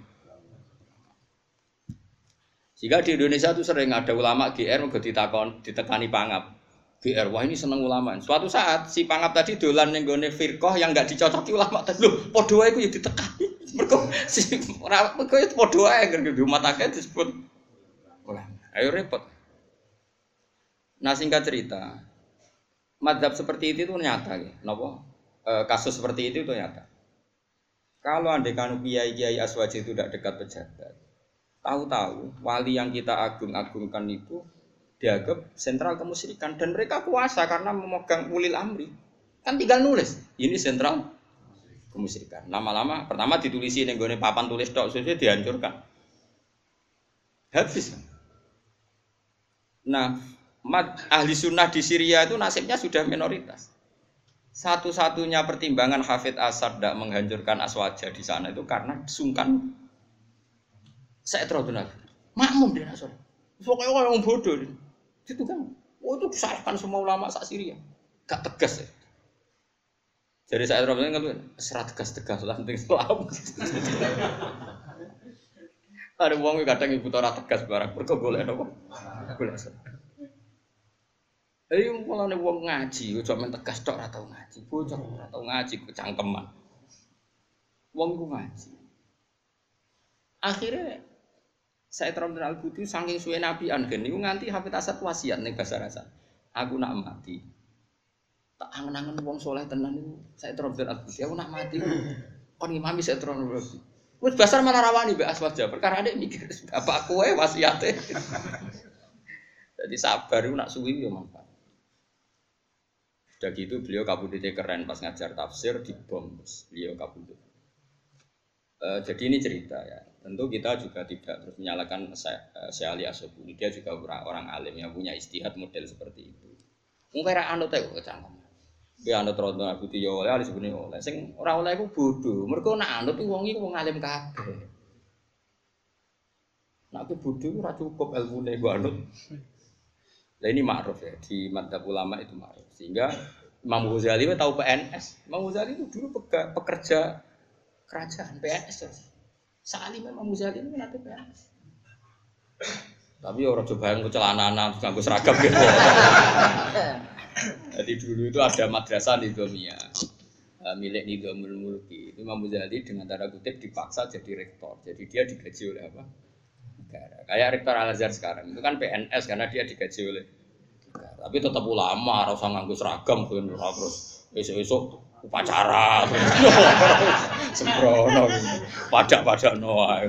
Jika di Indonesia itu sering ada ulama G R mergo ditakon ditekani pangap. G R, wah ini seneng ulama. Suatu saat si Pangap tadi dolan ning gone firqah yang enggak dicocoki ulama tadi. Lho, padha wae ku ya ditekani. Mergo si ora mergo ya padha wae kan di umat akeh disebut ulama. Ayo repot. Nah singkat cerita, mazhab seperti itu itu nyata ya. Napa? E, kasus seperti itu itu nyata. Kalau andaikan kiai-kiai aswaji itu tidak dekat pejabat, tahu-tahu wali yang kita agung-agungkan itu dianggap sentral kemusyrikan dan mereka kuasa karena memegang ulil amri. Kan tinggal nulis, ini sentral kemusyrikan. Lama-lama pertama ditulisi ning gone papan tulis tok sudah dihancurkan. Habis. Nah, ahli sunnah di Syria itu nasibnya sudah minoritas. Satu-satunya pertimbangan Hafidz Asad tidak menghancurkan Aswaja di sana itu karena sungkan saya terlalu makmum di Nasr. Pokoknya orang bodoh. Itu kan, oh itu disalahkan semua ulama sak Syria, gak tegas ya. Jadi saya terus bilang kan, serat tegas-tegas lah, penting Islam. Ada uang kadang ibu tora tegas barang, berkegoleh apa? Boleh. Ayo malah nih uang ngaji, cuma main tegas tok atau ngaji, bocor atau ngaji kecangkeman. Uang itu ngaji. Akhirnya saya terang dan al-Buti saking suwe Nabi Anggen niku nganti Hafidz Asad wasiat ning bahasa rasa. Aku nak mati. Tak angen-angen wong soleh tenan niku saya terang dan al-Buti aku nak mati. Kon ngimami saya terang dan al-Buti. Wis basar malah rawani mbek Aswaja perkara nek mikir bapak kowe wasiate. Jadi sabar iku nak suwi yo manfaat. Sudah gitu beliau kabudute keren pas ngajar tafsir di bom. Beliau kabudut. Uh, jadi ini cerita ya. Tentu kita juga tidak terus menyalahkan Syekh Ali Asy'abuni. Dia juga orang, orang alim yang punya istihad model seperti itu. Mungkin ra anut ae kok cangkem. Dia anut rodo Abuti yo oleh Ali Asy'abuni oleh. Sing ora oleh iku bodho. Mergo nak anut wong iki wong alim kabeh. Nak ku bodho ora cukup ilmune gua anut. Lah ini ma'ruf ya di madzhab ulama itu ma'ruf. Sehingga Imam Ghazali tahu P N S. Imam Ghazali itu dulu pekerja kerajaan P N S. Salim Imam Ghazali itu nanti P N S. Tapi orang coba yang kecelananan nganggo seragam gitu. Jadi dulu itu ada madrasah Nidhamiyah milik Nidhamul Mulki. Imam Ghazali dengan tanda kutip dipaksa jadi rektor. Jadi dia digaji oleh apa? Negara. Kayak rektor Al-Azhar sekarang itu kan P N S karena dia digaji oleh negara. Tapi tetap ulama, harus nganggo seragam kan terus esuk-esuk upacara. Sembrono. Pajak-pajak noa.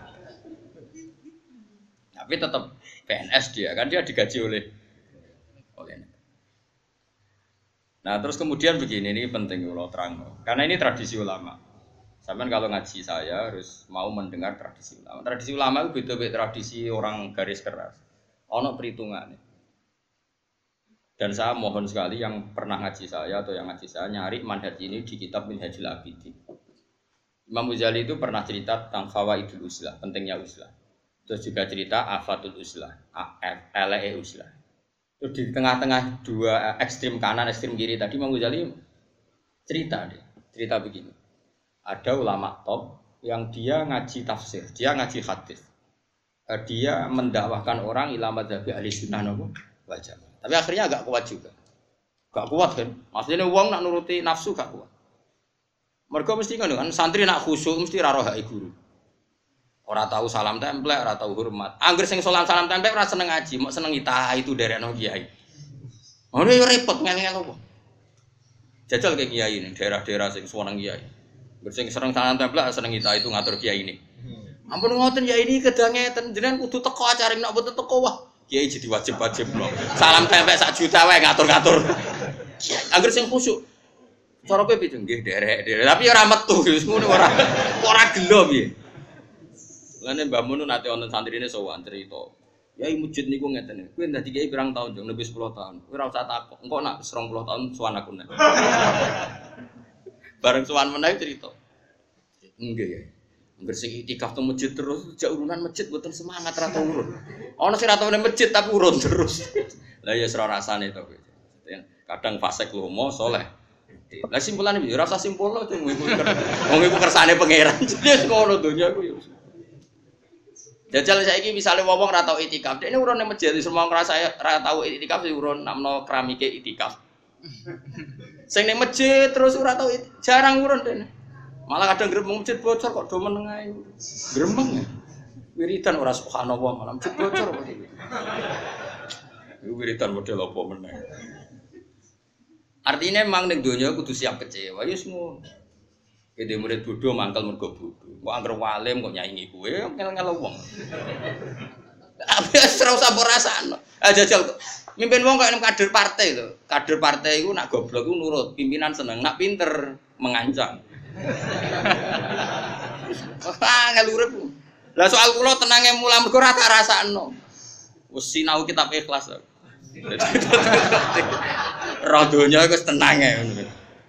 Tapi tetap P N S dia kan dia digaji oleh oleh negara. Nah, terus kemudian begini, ini penting kalau terang. Karena ini tradisi ulama. Sampai kalau ngaji saya harus mau mendengar tradisi ulama. Tradisi ulama itu beda-beda tradisi orang garis keras. Ono perhitungannya. Dan saya mohon sekali yang pernah ngaji saya atau yang ngaji saya nyari manhaj ini di kitab Minhajul Abidin. Imam Ghazali itu pernah cerita tentang fawaidul uslah, pentingnya uslah. Terus juga cerita afatul uslah, ele uslah. Terus di tengah-tengah dua ekstrim kanan, ekstrim kiri tadi Imam Ghazali cerita deh, cerita begini. Ada ulama top yang dia ngaji tafsir, dia ngaji hadis. Dia mendakwahkan orang ila madzhabi ahli sunnah wal jamaah. Tapi akhirnya agak kuat juga. Gak kuat kan? Maksudnya wong nak nuruti nafsu gak kuat. Mergo mesti ngono kan santri nak khusyuk mesti ra roh hak guru. Ora tahu salam templek, ora tahu hormat. Angger sing salam salam templek ora seneng ngaji, mok seneng ita itu derekno kiai. Ngono yo repot ngel-ngel opo. Jajal ke kiai ning daerah-daerah sing seneng kiai. Bersing serang salam templek seneng ita itu ngatur kiai ini. Ampun ngoten ya ini kedangeten jenengan kudu teko acara nek mboten teko wah kiai jadi wajib-wajib lho. Salam templek sak juta wae ngatur-ngatur. Angger sing khusyuk. Cara kowe piye nggih derek-derek tapi ora metu wis ngono ora ora gelo piye. Lane Mbah Mun nate wonten santrine sowan cerita. Yai masjid niku ngeten. Kowe dadi kiai pirang tahun jeng lebih sepuluh tahun. Kowe ora usah takok. Engko nak serong puluh tahun sowan aku nek. Bareng sowan meneh cerita. Nggih ya. Angger sing itikaf teng masjid terus jak urunan masjid mboten semangat ra tau urun. Ana sing ra tau nang masjid tapi urun terus. Lah ya ora rasane to kowe. Kadang fasik lomo saleh. Lah simpulane piye? Ora usah simpulno wong iku kersane pangeran. Wis ngono donya ku ya. Jajal saiki misale wong ora tau itikaf, dekne urun ning masjid semua ngrasa ora tau itikaf sing urun namno keramike itikaf. Sing ning masjid terus ora tau jarang urun dekne. Malah kadang gremeng masjid bocor kok do meneng ae. Gremeng ya. Wiridan ora subhanallah malam masjid bocor kok iki. Wiridan model apa meneh. Artinya memang ning donya kudu siap kecewa ya wis ngono. Gede murid bodoh mangkel mergo bodoh. Kok anggere walim kok nyaingi kowe ngel-ngel wong. Apa ora usah mbok rasakno. Ah jajal mimpin wong kok kader partai lho. Kader partai iku nak goblok iku nurut, pimpinan seneng, nak pinter mengancam. Ah ngelurep. Lah soal kula tenange mulah mergo ora tak rasakno. Wis sinau kitab ikhlas. Radonya wis tenang ya ngono.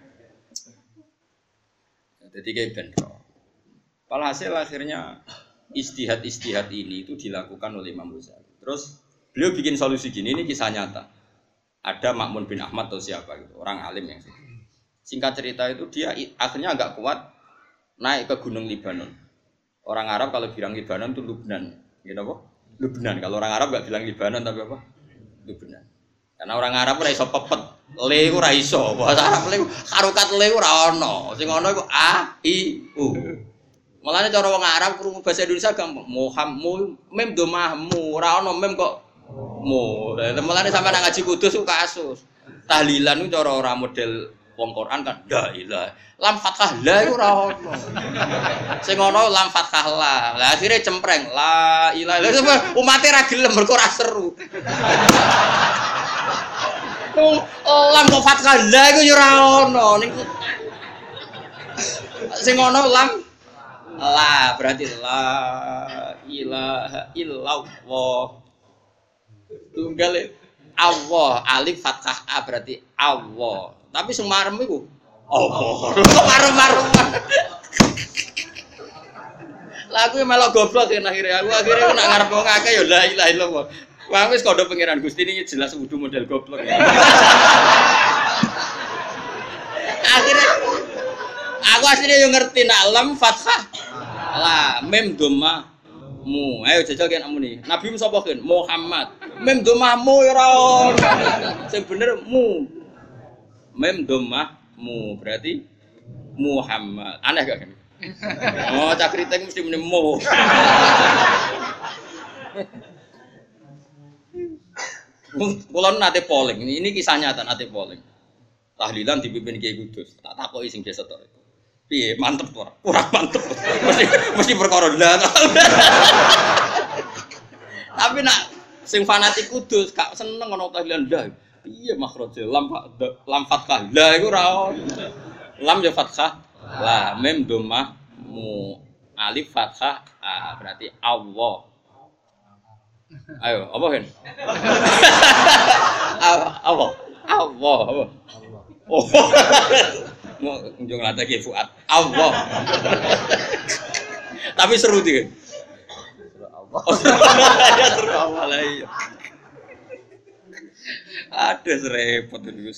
Jadi kayak benro. Walhasil akhirnya istihad-istihad ini itu dilakukan oleh Imam Ghazali. Terus beliau bikin solusi gini, ini kisah nyata. Ada Ma'mun bin Ahmad atau siapa gitu, orang alim yang singkat cerita itu dia akhirnya agak kuat naik ke Gunung Libanon. Orang Arab kalau bilang Libanon itu Lubnan, gitu apa? Lubnan. Kalau orang Arab nggak bilang Libanon tapi apa? Lubnan. Karena orang Arab ora iso pepet, le ora iso. Bahasa Arab le harokat le ora ono. Sing ono iku a i u. Mulane cara wong Arab krungu bahasa Indonesia gampang. Muhammad mem do mahmu, ora ono mem kok mu. Mulane sampeyan ngaji kudus ku kasus. Tahlilan ku cara ora model wong Quran kan la ilaha. Lam fathah la iku ora ono. Sing ono lam fathah la. Lah akhire cempreng la ilaha. Umate ra gelem mergo ora seru. Lam kok fathah la iku ya ora ono niku. Sing ono lam la berarti la ilaha illallah. Tunggal Allah alif fathah a berarti Allah. Tapi sing marem iku Allah. Kok marem-marem. Lah aku melok goblok kan akhirnya. Aku akhirnya nak ngarep wong akeh ya la ilaha illallah. Wah wis kodho pangeran Gusti ini jelas wudu model goblok ya. Akhirnya aku aslinya yo ngerti nak lam fathah la mem dhamma mu. Ayo jajal kan amune. Nabi sapa kan? Muhammad. Mem dhamma mu ora ono. Sing bener mu. Mem dhamma mu berarti Muhammad. Aneh gak kan? Oh, cak kriting mesti muni mu. Kula nate polling, ini kisah nyata nate polling. Tahlilan dipimpin Kiai Kudus. Tak takoki sing desa tok. Piye, mantep ora? Kurang mantep. Mesti mesti perkara ndak. Tapi nak sing fanatik Kudus gak seneng ana tahlilan ndak. Piye makhraje lam lam fathah. La iku ora ono. Lam ya fathah. La mim dhammah mu alif fathah a berarti Allah. Ayo, apa kan? Allah, Allah, Allah. Oh, mau unjung latih ke Fuad. Allah. Tapi seru dia. Allah. Ya seru Allah lah. Ada serempet terus.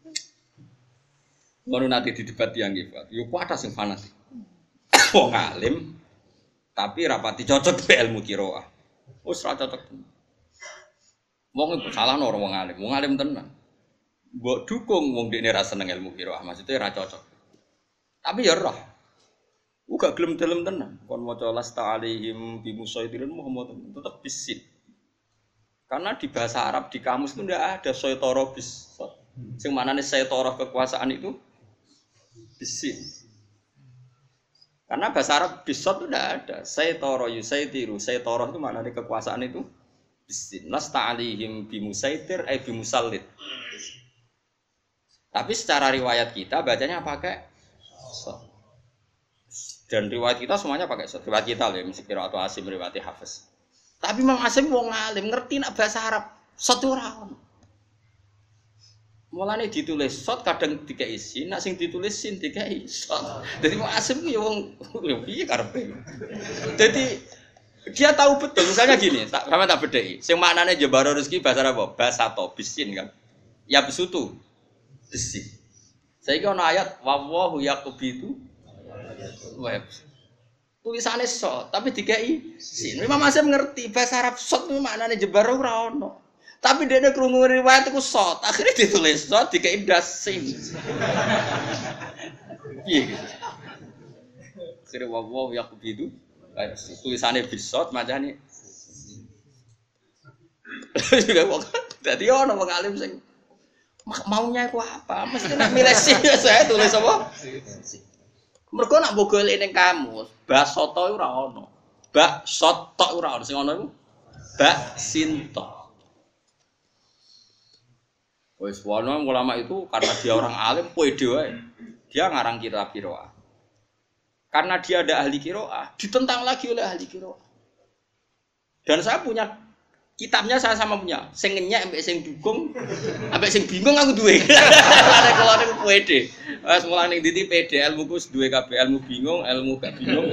Baru nanti di debat yang gifat. Yuk ada sing fanatik. Wong alim, tapi rapati cocok be ilmu kiroah. Wis ra cocok. Wong iku salah ora wong alim, wong alim tenan. Mbok dukung wong dekne ra seneng ilmu qiraah, maksudnya ra cocok. Tapi ya roh. Uga gelem dalem tenan. Kon maca lasta alaihim bi musaidirin Muhammad tetep bisin. Karena di bahasa Arab di kamus itu ndak ada saytara bis. Sing manane saytara kekuasaan itu bisin. Karena bahasa Arab bisot itu tidak ada. Saytara yusaitiru. Saytara itu maknanya kekuasaan itu bisin. Lasta alihim bimusaitir eh bimusallid. Tapi secara riwayat kita bacanya pakai sot. Dan riwayat kita semuanya pakai sot. Riwayat kita loh, mesti kira atau Asim riwayat Hafiz. Tapi Mang Asim wong alim ngerti nak bahasa Arab. Sot ora ono. Mulane ditulis sot kadang dikai sin, nak sing ditulis sin dikai sot. Dadi Mang Asim ya wong piye karepe. Dadi dia tahu betul misalnya gini, tak sama tak bedheki. Sing maknane jembaro rezeki bahasa Arab bahasa to bisin kan. Ya besutu. Bisi. Saiki ana ayat wallahu yaqubitu wa tulisannya sot, tapi dikai sin. Imam Asy'ari ngerti bahasa Arab sot itu maknanya jebar ora ono. Tapi dia krungu riwayat iku sot, akhirnya ditulis sot dikai dasin. Piye gitu. Akhirnya wawaw yaqubidu tulisannya bisot macane. Dadi ono wong alim sing maunya iku apa? Mesti nak milih sih saya tulis apa? Mergo nak mbok golek ning kamus, basoto ora ono. Bak soto ora ono sing ono iku bak sinto. Wes wono ulama itu karena dia orang alim pede wae. Dia ngarang kitab qiraah. Karena dia ada ahli qiraah, ditentang lagi oleh ahli qiraah. Dan saya punya kitabnya saya sama punya. Sing ngenyek ambek sing dukung, ambek sing bingung aku duwe. Lare kula niku pede. Wes mulane ning ndi pede ilmuku wis duwe kabeh, ilmu bingung, ilmu gak bingung.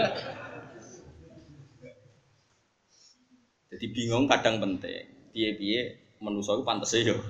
Jadi bingung kadang penting. Piye-piye manusa iku pantese yo.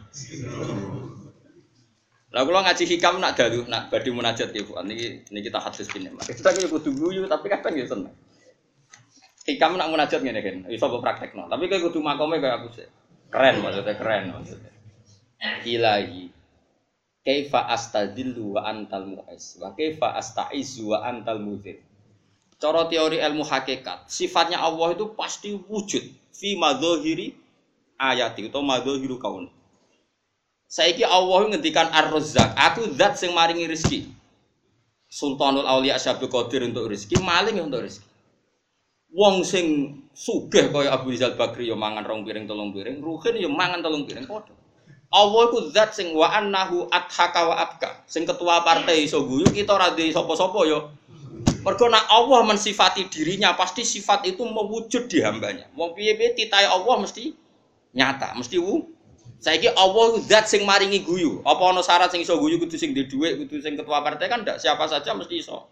Lah kula ngaji hikam nak dalu nak badhe munajat ya Bu. Niki niki kita hadis kene. Kita iki kudu guyu tapi kadang ya seneng. Hikam nak munajat ngene kan, iso mbok praktekno. Tapi kowe kudu makome kaya aku sih. Keren maksudnya keren maksudnya. Ilahi kaifa astadillu wa antal mu'is wa kaifa astaizu wa antal mudhir. Cara teori ilmu hakikat, sifatnya Allah itu pasti wujud fi madzahiri ayati atau madzhahiru kaun. Saiki Allah ngendikan Ar-Razzaq, aku zat sing maringi rezeki. Sultanul Auliya Syabul Qadir untuk rezeki, maling untuk rezeki. Wong sing sugih kaya Abu Rizal Bakri ya mangan rong piring telung piring, Ruhin ya mangan telung piring padha. Allah iku zat sing wa annahu adhaka wa abka. Sing ketua partai iso guyu kita ora ndek sapa-sapa ya. Mergo nek Allah mensifati dirinya pasti sifat itu mewujud di hambanya. Wong piye-piye titahe Allah mesti nyata, mesti wu. Saiki Allah zat sing maringi guyu. Apa ana syarat sing iso guyu kudu sing ndek dhuwit, kudu sing ketua partai kan ndak siapa saja mesti iso.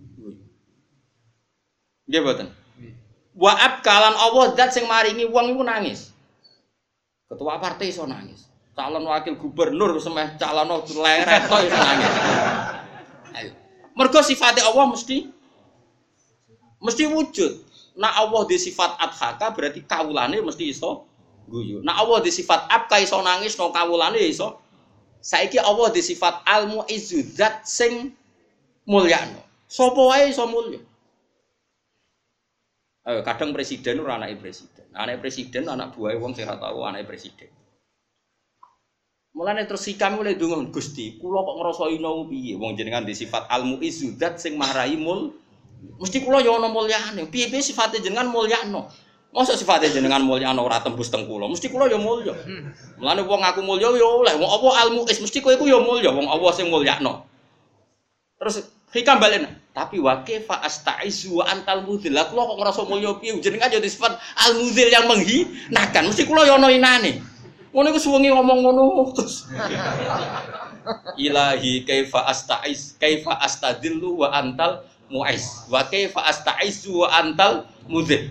Nggih mboten? Wa abkalan Allah zat sing maringi wong iku nangis. Ketua partai iso nangis. Calon wakil gubernur semeh calon leret iso nangis. Ayo. Mergo sifate Allah mesti mesti wujud. Nah Allah di sifat adhaka berarti kawulane mesti iso guyu. Nah Allah di sifat abka iso nangis, no kawulane iso. Saiki Allah di sifat al-mu'izzu zat sing mulyano. Sapa wae iso mulya. Eh, kadang presiden ora anake presiden. Anake presiden anak buahe wong sing ora tau anake presiden. Mulane terus sikam mulai ndonga Gusti, kula kok ngrasa ino piye wong jenengan di sifat al-mu'izzu zat sing marai mul. Mesti kula ya ana mulyane. Piye-piye sifate jenengan mulyano. Mosok sifate jenengan mulyano ora tembus teng kula. Mesti kula ya mulya. Mulane wong aku mulya ya oleh. Wong apa al-mu'iz mesti kowe iku ya mulya wong Allah sing mulyano. Terus hikam balen. Tapi wa kaifa astaizu wa antal mudhil. Lah kula kok ngrasa mulya piye jenengan ya sifat al-mudhil yang menghinakan. Mesti kula ya ana inane. Ngono iku suwengi ngomong ngono terus. Ilahi kaifa astaiz kaifa astadillu wa antal mu'izz wa kaifa astaizu wa antal mudhil.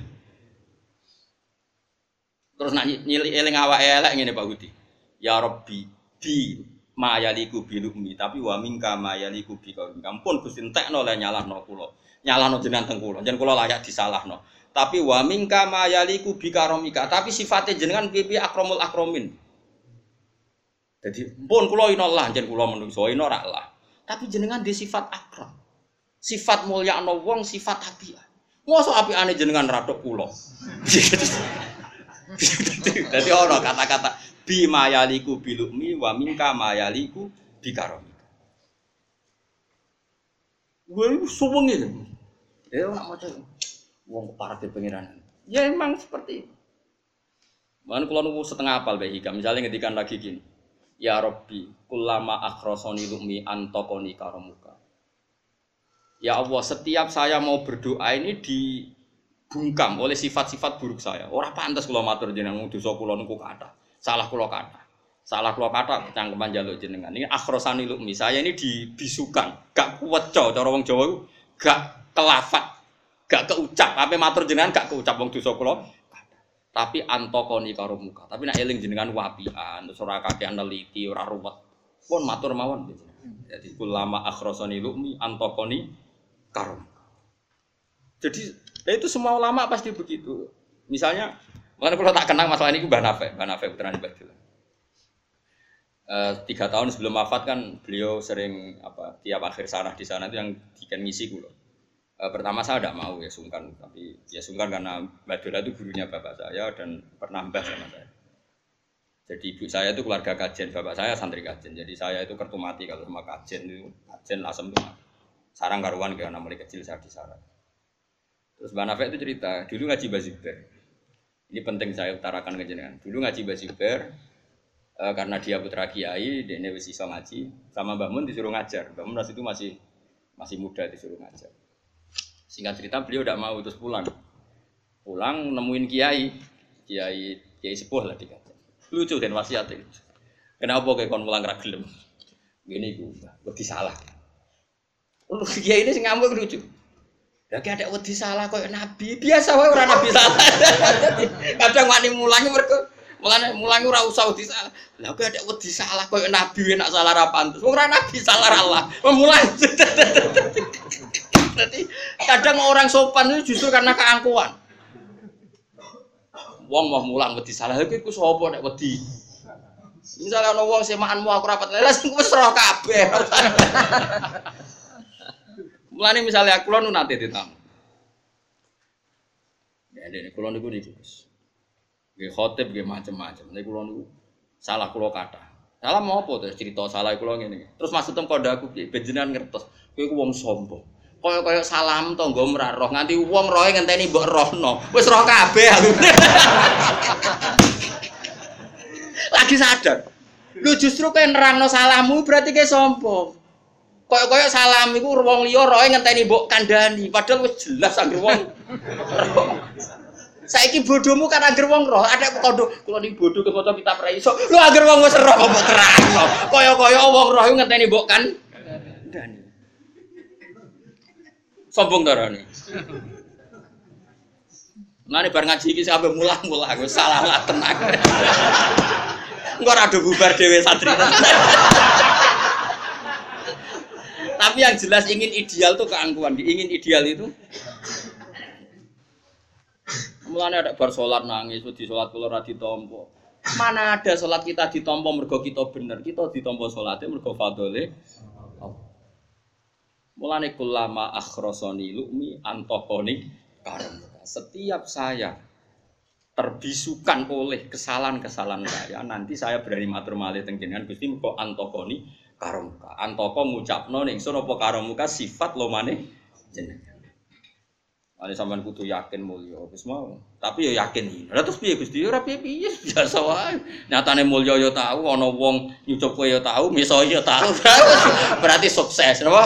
Terus nak nyili eling awake elek ngene Pak Budi. Ya Rabbi bi mayaliku bilumi tapi wa mingka mayaliku bi kaum. Ampun Gusti entekno le nyalahno kula. Nyalahno jenengan teng kula. Jen kula layak disalahno. Tapi wa mingka mayaliku bi karomika. Tapi sifatnya jenengan piye akromul akromin. Jadi pun kula inallah jen kula menungso ina ra lah. Tapi jenengan di sifat akram. Sifat mulyakno wong, sifat apian. Mosok apiane jenengan radok kula. Dadi ana kata-kata bi mayaliku bilumi wa mingka mayaliku bi karomika. Gue suwengi. Eh ora maca wong parate pengiran. Ya emang seperti itu. Man kula nu setengah apal bae hikam. Misale ngendikan lagi gini. Ya Rabbi, kullama akhrasani lumi antaqani karamuka. Ya Allah, setiap saya mau berdoa ini dibungkam oleh sifat-sifat buruk saya. Ora pantes kula matur jenengan dosa kula niku kathah. Salah kula kathah. Salah kula kathah cangkeman njaluk jenengan. Ini akhrasani lumi. Saya ini dibisukan, gak kuweca cara wong Jawa iku, gak kelafat. Gak keucap, apa matur jenengan gak keucap wong dosa kula. Tapi antokoni karo muka. Tapi nek eling jenengan wapian, terus ora kakean neliti, ora ruwet. Pun matur mawon. Jadi ulama akhrasani lumi antokoni karo muka. Jadi ya itu semua ulama pasti begitu. Misalnya, makanya kalau tak kenal masalah ini Mbah Nafek, Mbah Nafek putrane Badil. Uh, tiga tahun sebelum wafat kan beliau sering apa tiap akhir sanah di sana itu yang dikan ngisi kulo. Uh, pertama saya tidak mau ya sungkan, tapi ya sungkan karena Mbak Dola itu gurunya bapak saya dan pernah mbah sama saya. Jadi ibu saya itu keluarga kajen, bapak saya santri kajen. Jadi saya itu kertu mati kalau sama kajen itu kajen asem itu mati. Sarang karuan karena mulai kecil saya di sarang. Terus Mbak Nafek itu cerita dulu ngaji Baziber. Ini penting saya utarakan ke jenengan. Dulu ngaji Baziber. Uh, karena dia putra kiai, dia wis iso ngaji, sama Mbah Mun disuruh ngajar. Mbah Mun itu masih masih muda disuruh ngajar. Singkat cerita beliau tidak mau terus pulang. Pulang nemuin kiai, kiai kiai sepuh lah dikata. Lucu dan wasiat itu. Kenapa kayak kon pulang ra gelem? Ngene iku, wedi salah. Lu kiai ini sing ngamuk lucu. Lah ki ada wedi salah koyo nabi, biasa wae ora nabi salah. Kadang wani mulangi mergo mulane mulangi ora usah wedi salah. Lah kok ada wedi salah koyo nabi nek salah ra pantes. Wong ora nabi salah Allah. Mulai. Berarti kadang orang sopan itu justru karena keangkuhan. Wong mau mulang wedi salah lha iku sapa nek wedi. Misalnya ana wong semaanmu aku rapat lha sing wis roh kabeh. Mulane misalnya kula nu nate ditamu. Ya dene kula niku niku. Nggih khotib nggih macam-macam. Nek kula niku salah kula kathah. Salah mau apa terus cerita salah kula ngene. Terus maksudem kondaku piye? Ben jenengan ngertos. Kowe ku wong sombong. Kaya-kaya salam tangga ora roh nganti wong rohe ngenteni mbok rohno. Wis roh kabeh aku. Lagi sadar. Lu justru kowe nerangno salahmu berarti kowe sombong. Kaya-kaya salam iku wong liya rohe ngenteni mbok kandhani. Padahal wis jelas anggere wong roh. Saiki bodohmu kan anger wong roh, ada kondo kula ni bodoh ke foto kitab ra iso. Lu anger wong wis roh kok terangno. Kaya-kaya wong roh ngenteni mbok kan kandhani. Sombong darane. Mane bar ngaji iki sampe mulah-mulah wis salah lah tenang. Engko ora do bubar dhewe santri. Tapi yang jelas ingin ideal tuh keangkuhan, ingin ideal itu. Mulane ada bar salat nangis, di salat kula ora ditampa. Mana ada salat kita ditampa mergo kita bener, kita ditampa salate mergo fadhole. Mulane kulama akhrasani lu'mi antaqani karam. Setiap saya terbisukan oleh kesalahan-kesalahan saya, nanti saya berani matur malih teng jenengan Gusti mergo antaqani karamka. Antaka ngucapno ning sun apa karamka sifat lomane jenengan. Ane sampean kudu yakin mulya wis mau. Tapi ya yakin. Lah terus piye Gusti? Ora piye-piye biasa wae. Nyatane mulya ya tau, ana wong nyucup kowe ya tau, miso ya tau. Berarti sukses, napa?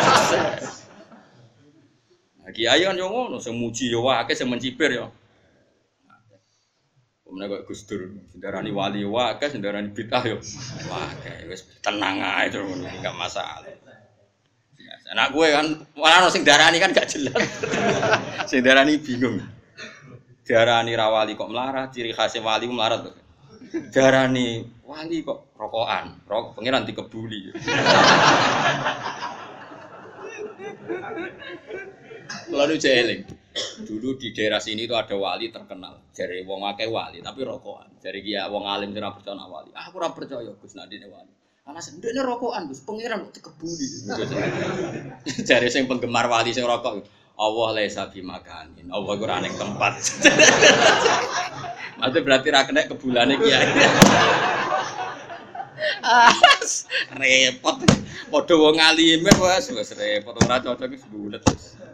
Nah, kiai kan yo ngono, sing muji yo akeh, sing mencibir yo. Omne kok Gus Dur, sendarani wali wae akeh, sendarani bid'ah yo. Wah, wis tenang ae to ngono, enggak masalah. Anak gue kan, malah sing darani kan gak jelas. Sing darani bingung. Darani rawali kok melarat, ciri khasnya wali melarat. Darani wali kok rokokan, rokok pengiran dikebuli. Lalu jeeling. Dulu di daerah sini itu ada wali terkenal. Jare wong akeh wali, tapi rokokan. Jare ki wong alim ora percaya wali. Ah, aku ora percaya Gus Nadine wali. Ana sendekne rokokan Gus, pengiran kok dikebuli. Jare sing penggemar wali sing rokok, Allah laisa bimakanin. Allah ora ning tempat. Mate berarti ra kena kebulane kiai. Ah, repot. Padha wong alime wis wis repot ora cocok wis bulet.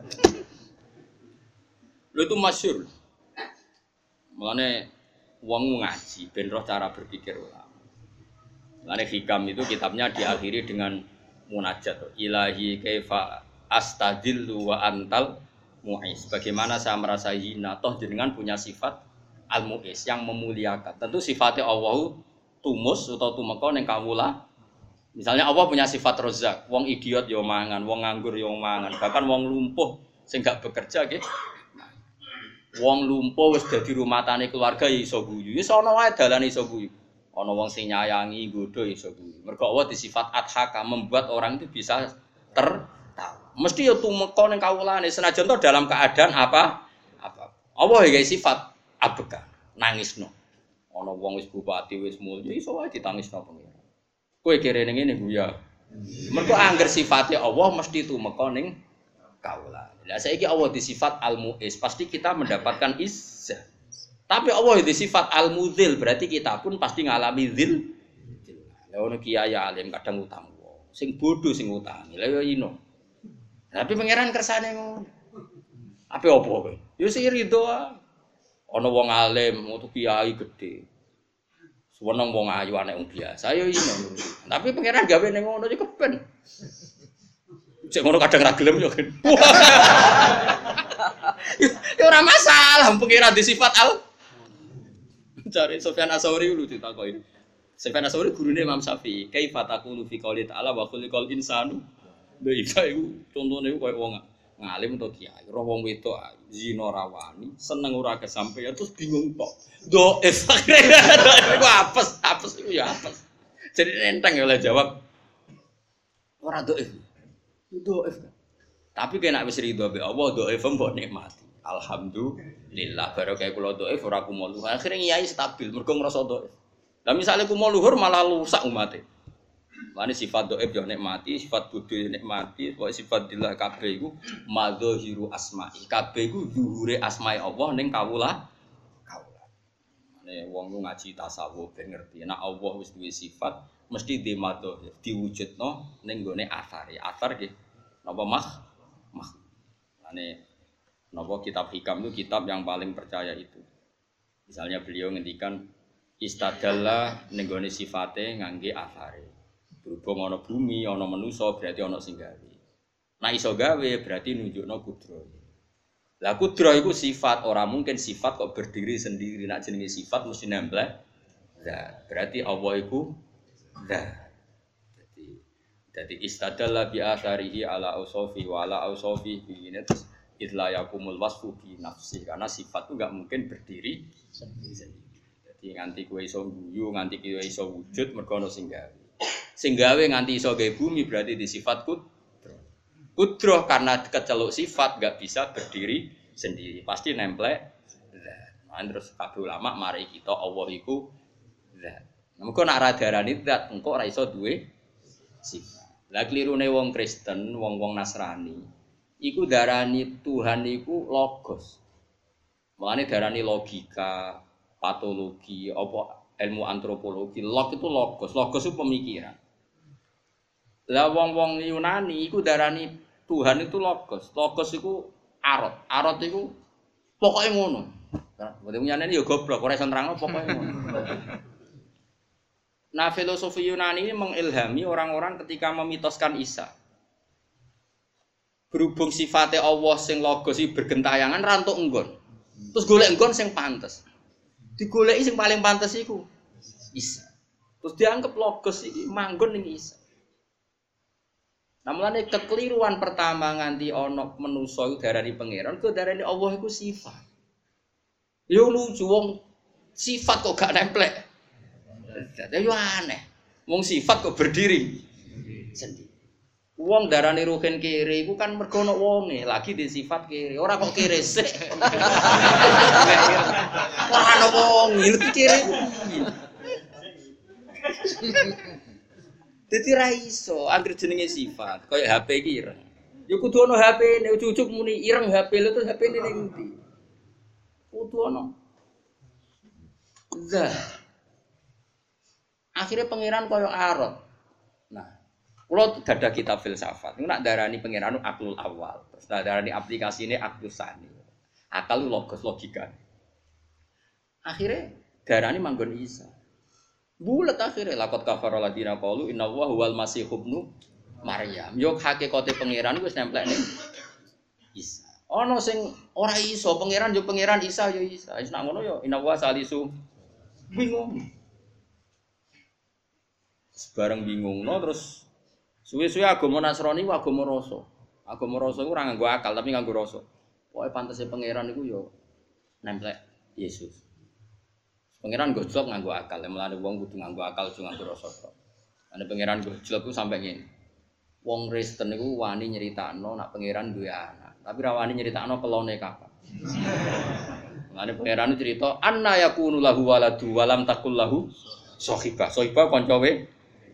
Lho itu masyhur. Mulane wong ngaji ben roh cara berpikir ulama. Mulane hikam itu kitabnya diakhiri dengan munajat. Ilahi kaifa astadillu wa antal mu'is. Bagaimana saya merasa hina toh jenengan punya sifat al-mu'is yang memuliakan. Tentu sifatnya Allah tumus atau tumeka ning kawula. Misalnya Allah punya sifat rozak, wong idiot yo mangan, wong nganggur yo mangan, bahkan wong lumpuh sing gak bekerja nggih. Wong lumpuh wis dadi rumatane keluarga ya iso guyu. Wis ana wae dalane iso guyu. Ana wong sing nyayangi nggodho iso guyu. Mergo Allah disifat adhaka membuat orang itu bisa tertawa. Mesti ya tumeka ning kawulane senajan to dalam keadaan apa? Apa. Allah ya sifat abeka, nangisno. Ana wong wis bupati wis mulya iso wae ditangisno pengiran. Kowe kere ning ngene ya. Mergo angger sifate Allah mesti tumeka ning kawulane. Lah saiki Allah disifat al-mu'is, pasti kita mendapatkan izzah. Tapi Allah disifat al-mudzil, berarti kita pun pasti ngalami dzil. Lah ono kiai alim kadang utang wong, sing bodho sing utangi. Lah yo ino. Tapi pangeran kersane ngono. Ape opo kowe? Yo sing rido ah. Ana wong alim, metu kiai gedhe. Seneng wong ayu anek wong biasa yo ino. Tapi pangeran gawe ning ngono yo keben. Cek ngono kadang ra gelem yo. Ya ora masalah pangeran di sifat al. Cari Sufyan Ats-Tsauri lu ditakoki. Sufyan Ats-Tsauri gurune Imam Syafi'i. Kaifa taqulu fi qouli ta'ala wa khuliqal insanu. Lha iki iku contone koyo wong ngalim to kiai, roh wong wedok zina rawani, seneng ora kesampeyan terus bingung tok. Dhaif. Iku apes, apes iku ya apes. Jadi enteng ya oleh jawab. Ora dhaif. Dhaif. Tapi kena wis ridho be Allah, dhaif mbok nikmati. Alhamdulillah barokah kula dhaif ora kumo luhur. Akhire kiai stabil mergo ngrasa dhaif. Lah misale kumo luhur malah rusak umate. Mane sifat dhaif yo nikmati, sifat bodho yo nikmati, pokoke sifat dillah kabeh iku madzahiru asma'i. Kabeh iku zuhure asma'i Allah ning kawula. Kawula. Mane wong ku ngaji tasawuf ben ngerti, nek Allah wis duwe sifat mesti di madzahir, diwujudno ning gone athar. Athar nggih napa mah? Mah. Mane napa kitab hikam itu kitab yang paling percaya itu. Misalnya beliau ngendikan istadalla ning gone sifate ngangge athare. Berhubung ana bumi, ana manusa berarti ana sing gawe. Nah iso gawe berarti nunjukno kudro. Lah kudro iku sifat, ora mungkin sifat kok berdiri sendiri. Nek jenenge sifat mesti nempel. Nah, berarti Allah iku zat. Jadi jadi istadalla bi atharihi ala ausofi wa ala ausofi bi terus idla yakumul wasfu bi nafsi karena sifat itu enggak mungkin berdiri sendiri. Jadi nganti kowe iso guyu, nganti kowe iso wujud mergo ana sing gawe. Sing gawe nganti iso gawe bumi berarti di sifat kudro. Kudro karena keceluk sifat enggak bisa berdiri sendiri, pasti nemplek zat. Nah, terus kabeh ulama mari kita Allah iku zat. Mengko nek ora darani zat, engko ora iso duwe sifat. Lah klirune wong Kristen, wong-wong Nasrani, iku darani Tuhan iku logos. Mulane darani logika, patologi, apa ilmu antropologi. Log itu logos, logos itu pemikiran. Lah wong-wong Yunani iku darani Tuhan itu logos. Logos iku arot. Arot iku pokoke ngono. Berarti nyane yo goblok, ora iso nerangno pokoke ngono. Nah, filosofi Yunani ini mengilhami orang-orang ketika memitoskan Isa. Berhubung sifatnya Allah sing logos iki bergentayangan rantuk enggon. Terus golek enggon sing pantes. Digoleki sing paling pantes iku Isa. Terus dianggap logos iki manggon ning Isa. Nah, mulane kekeliruan pertama nganti ana manusa iku darani pangeran, ku darani Allah iku sifat. Yo lucu wong sifat kok gak nemplek. Dadi yo aneh. Wong sifat kok berdiri sendiri. Wong darani ruhin kiri iku kan mergo ana wonge, lagi di sifat kiri. Ora kok kiri sik. Ora ana wong, iki kiri. Dadi ra iso anggere jenenge sifat, kaya H P iki ireng. Ya kudu ana H P-ne, ujug-ujug muni ireng H P lho terus H P-ne ning ndi? Kudu ana. Zat. Akhirnya pangeran kaya arot. Nah, kula dadah kitab filsafat. Niku nak darani pangeran aklul awal. Terus darani aplikasine aklus sani. Akal logos logika. Akhirnya darani manggon Isa. Bulet akhirnya lakot kafara ladina qalu inna wa huwal masih ibnu Maryam. Yo hakikate pangeran wis nemplek ning Isa. Ana sing ora iso pangeran yo pangeran Isa yo Isa. Wis nak ngono yo inna wa salisu bingung. Sebarang bingungno terus suwe-suwe agama Nasrani ku agama rasa. Agama rasa iku ora nganggo akal tapi nganggo rasa. Pokoke pantese pangeran iku yo nemplek Yesus. Pangeran gojlok nganggo akal, mulane wong kudu nganggo akal aja nganggo rasa. Ane pangeran gojlok ku sampe ngene. wong Kristen niku wani nyeritakno nak pangeran duwe anak, tapi ra wani nyeritakno kelone kapan. Mane pangeran cerita anna yakunu lahu waladu walam takul lahu sahibah. Sahibah kancawe.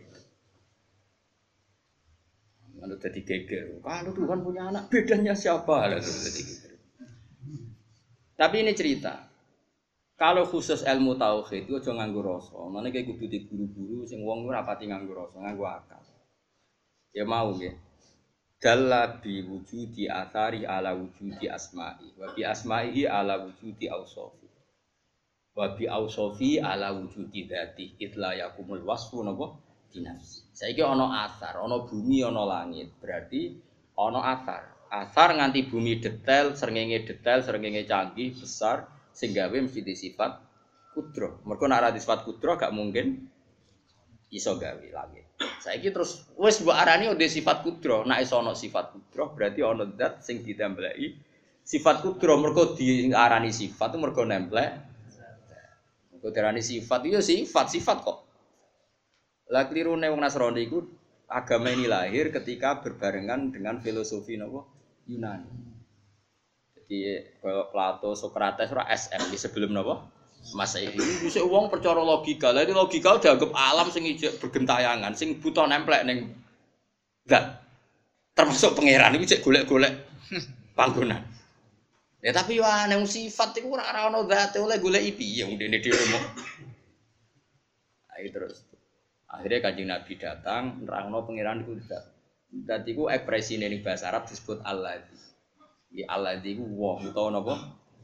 Lalu jadi geger. Kalau Tuhan punya anak, bedanya siapa? Lalu jadi geger. Tapi ini cerita. Kalau khusus ilmu tauhid itu aja nganggo rasa. Mane kayak kudu di guru-guru sing wong ora pati nganggo rasa, nganggo akal. Ya mau nggih. Dalla bi wujudi athari ala wujudi asma'i wa bi asma'ihi ala wujudi awsafi. Wa bi awsafi ala wujudi dzati. Itla yakumul wasfu napa? Dinafsi. Saiki ana asar, ana bumi, ana langit. Berarti ana asar. Asar nganti bumi detail, srengenge detail, srengenge canggih, besar, sing gawe mesti di sifat kudro. Mergo nek ora di sifat kudro gak mungkin iso gawe langit. Saiki terus wis mbok arani di sifat kudro. Nek iso ana sifat kudro, berarti ana zat sing ditembelai sifat kudro. Mergo diarani sifat itu mergo nemplek. Mergo diarani sifat itu sifat, sifat kok. Lah klirune wong Nasrani iku agama ini lahir ketika berbarengan dengan filosofi napa Yunani. Jadi kalau Plato, Sokrates ora S M di sebelum napa Masehi. Wis wong percaya logika. Lah logika dianggap alam sing ijek bergentayangan, sing buta nemplek ning zat. Termasuk pangeran iku cek golek-golek panggonan. Ya tapi yo aneh sifat iku ora ana zate oleh goleki piye wong dene dhewe mok. Ayo terus. Akhirnya Kanjeng Nabi datang, nerangno pangeran iku zat. Zat iku ekspresine ning bahasa Arab disebut Alladzi. Ya Alladzi iku wong utawa napa?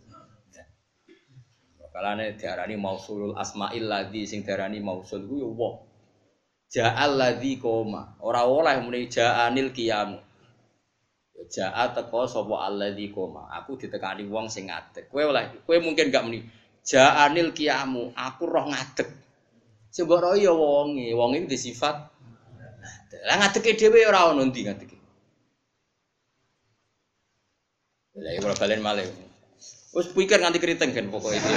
Kalane diarani mausulul asma'il ladzi sing diarani mausul iku ya wong. Ja'al ladzi koma. Ora oleh muni ja'anil qiyam. Ya ja'a teko sapa alladzi koma. Aku ditekani wong sing ngadeg. Kowe oleh kowe mungkin gak muni ja'anil qiyamu. Aku roh ngadeg. Sebab roh ya wonge, wonge iki disifat. Lah ngadege dhewe ora ono ndi ngadege. Lah iki ora balen malih. Wis pikir nganti keriting kan pokoke iki.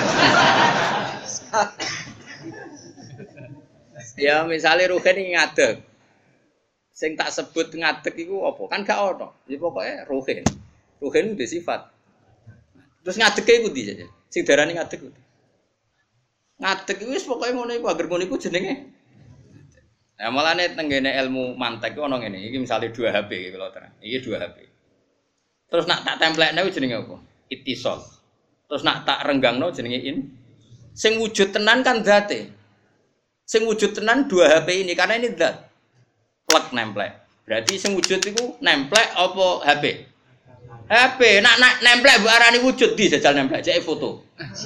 Ya misale ruhen iki ngadeg. Sing tak sebut ngadeg iku apa? Kan gak ono. Ya pokoke ruhen. Ruhen itu sifat. Terus ngadege iku ndi saja? Sing darani ngadeg iku. Ngadeg iku wis pokoke ngono iku, agar ngono iku jenenge. Nah, malane tenggene ilmu mantek iku ono ngene. Iki misale dua H P iki kalau terang. Iki dua H P. Terus nak tak templekne iku jenenge apa? Ittisal. Terus nak tak renggangno jenenge in. Sing wujud tenan kan zate. Sing wujud tenan dua H P ini karena ini zat. Plek nemplek. Berarti sing wujud iku nemplek apa H P? H P. Nak nak nemplek mbok arani wujud di jajal nemplek cek foto.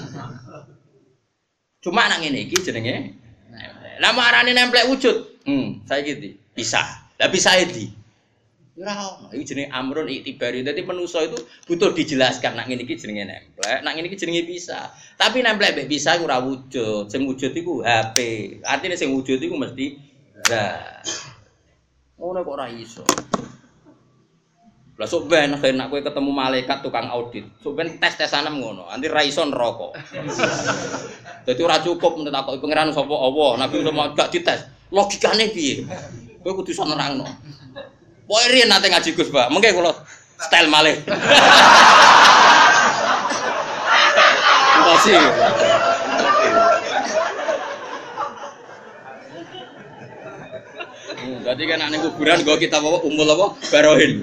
Cuma nak ngene iki jenenge nemplek. Lah marane nemplek wujud. Hmm, saiki iki pisah. Lah pisahe di. Ora ono. Iki jenenge amrun iktibari. Dadi manusa itu butuh dijelaskan nak ngene iki jenenge nemplek, nak ngene iki jenenge pisah. Tapi nemplek mek pisah ora wujud. Sing wujud iku H P. Artine sing wujud iku mesti zat. Ngono kok ora iso. Lah sok ben nek kowe ketemu malaikat tukang audit, sok ben tes-tesanem ngono, anti ra iso neraka. Dadi ora cukup nek takoki pangeran sapa Allah, Nabi Muhammad gak dites. Logikane piye? Kowe kudu iso nerangno. Pokoke riyen nate ngaji Gus, Pak. Mengke kula style malih. Kasih. Jadi kan nek kuburan go kita bawa umul apa? Barohin.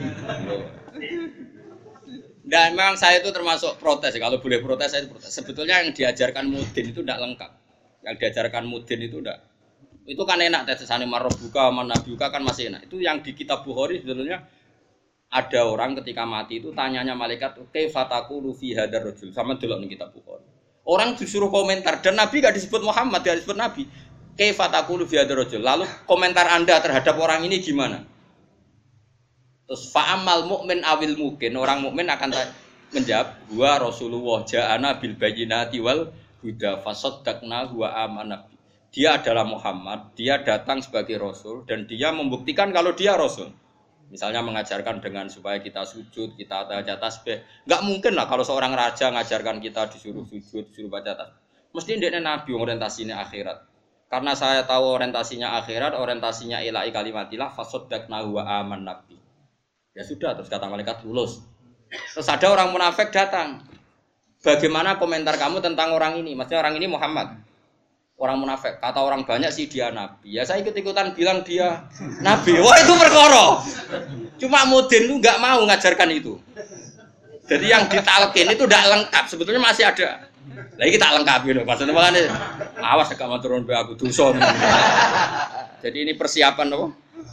Dan memang saya itu termasuk protes, kalau boleh protes saya itu protes. Sebetulnya yang diajarkan mudin itu tidak lengkap. Yang diajarkan mudin itu tidak. Itu kan enak tesane marbuka manabiuka kan masih enak. Itu yang di kitab Bukhari sebetulnya ada orang ketika mati itu tanyanya malaikat, "Kaifa taqulu fi hadzal rajul?" Sama delok ning kitab Bukhari. Orang disuruh komentar dan Nabi enggak disebut Muhammad, dia disebut Nabi. Kaifa taqulu fi hadzal rajul? Lalu komentar Anda terhadap orang ini gimana? Terus fa'amal mukmin awil mungkin, orang mukmin akan menjawab, "Wa Rasulullah ja'ana bil bayyinati wal huda fasaddaqna wa amanna." Dia adalah Muhammad, dia datang sebagai Rasul dan dia membuktikan kalau dia Rasul. Misalnya mengajarkan dengan supaya kita sujud, kita baca tasbih. Enggak mungkin lah kalau seorang raja ngajarkan kita disuruh sujud, disuruh baca tasbih. Mesti ndekne nabi orientasinya akhirat. Karena saya tahu orientasinya akhirat, orientasinya ilahi kalimatillah, fasaddaqnahu wa amanna bi. Ya sudah, terus kata malaikat lulus. Terus ada orang munafik datang. Bagaimana komentar kamu tentang orang ini? Maksudnya orang ini Muhammad. Orang munafik. Kata orang banyak sih dia nabi. Ya saya ikut-ikutan bilang dia nabi. Wah itu perkara. Cuma Mudin itu nggak mau ngajarkan itu. Jadi yang ditalkin itu tidak lengkap. Sebetulnya masih ada. Lagi kita lengkap gitu. Maksudnya makanya awas agak mau turun be aku dosa. Jadi ini persiapan apa?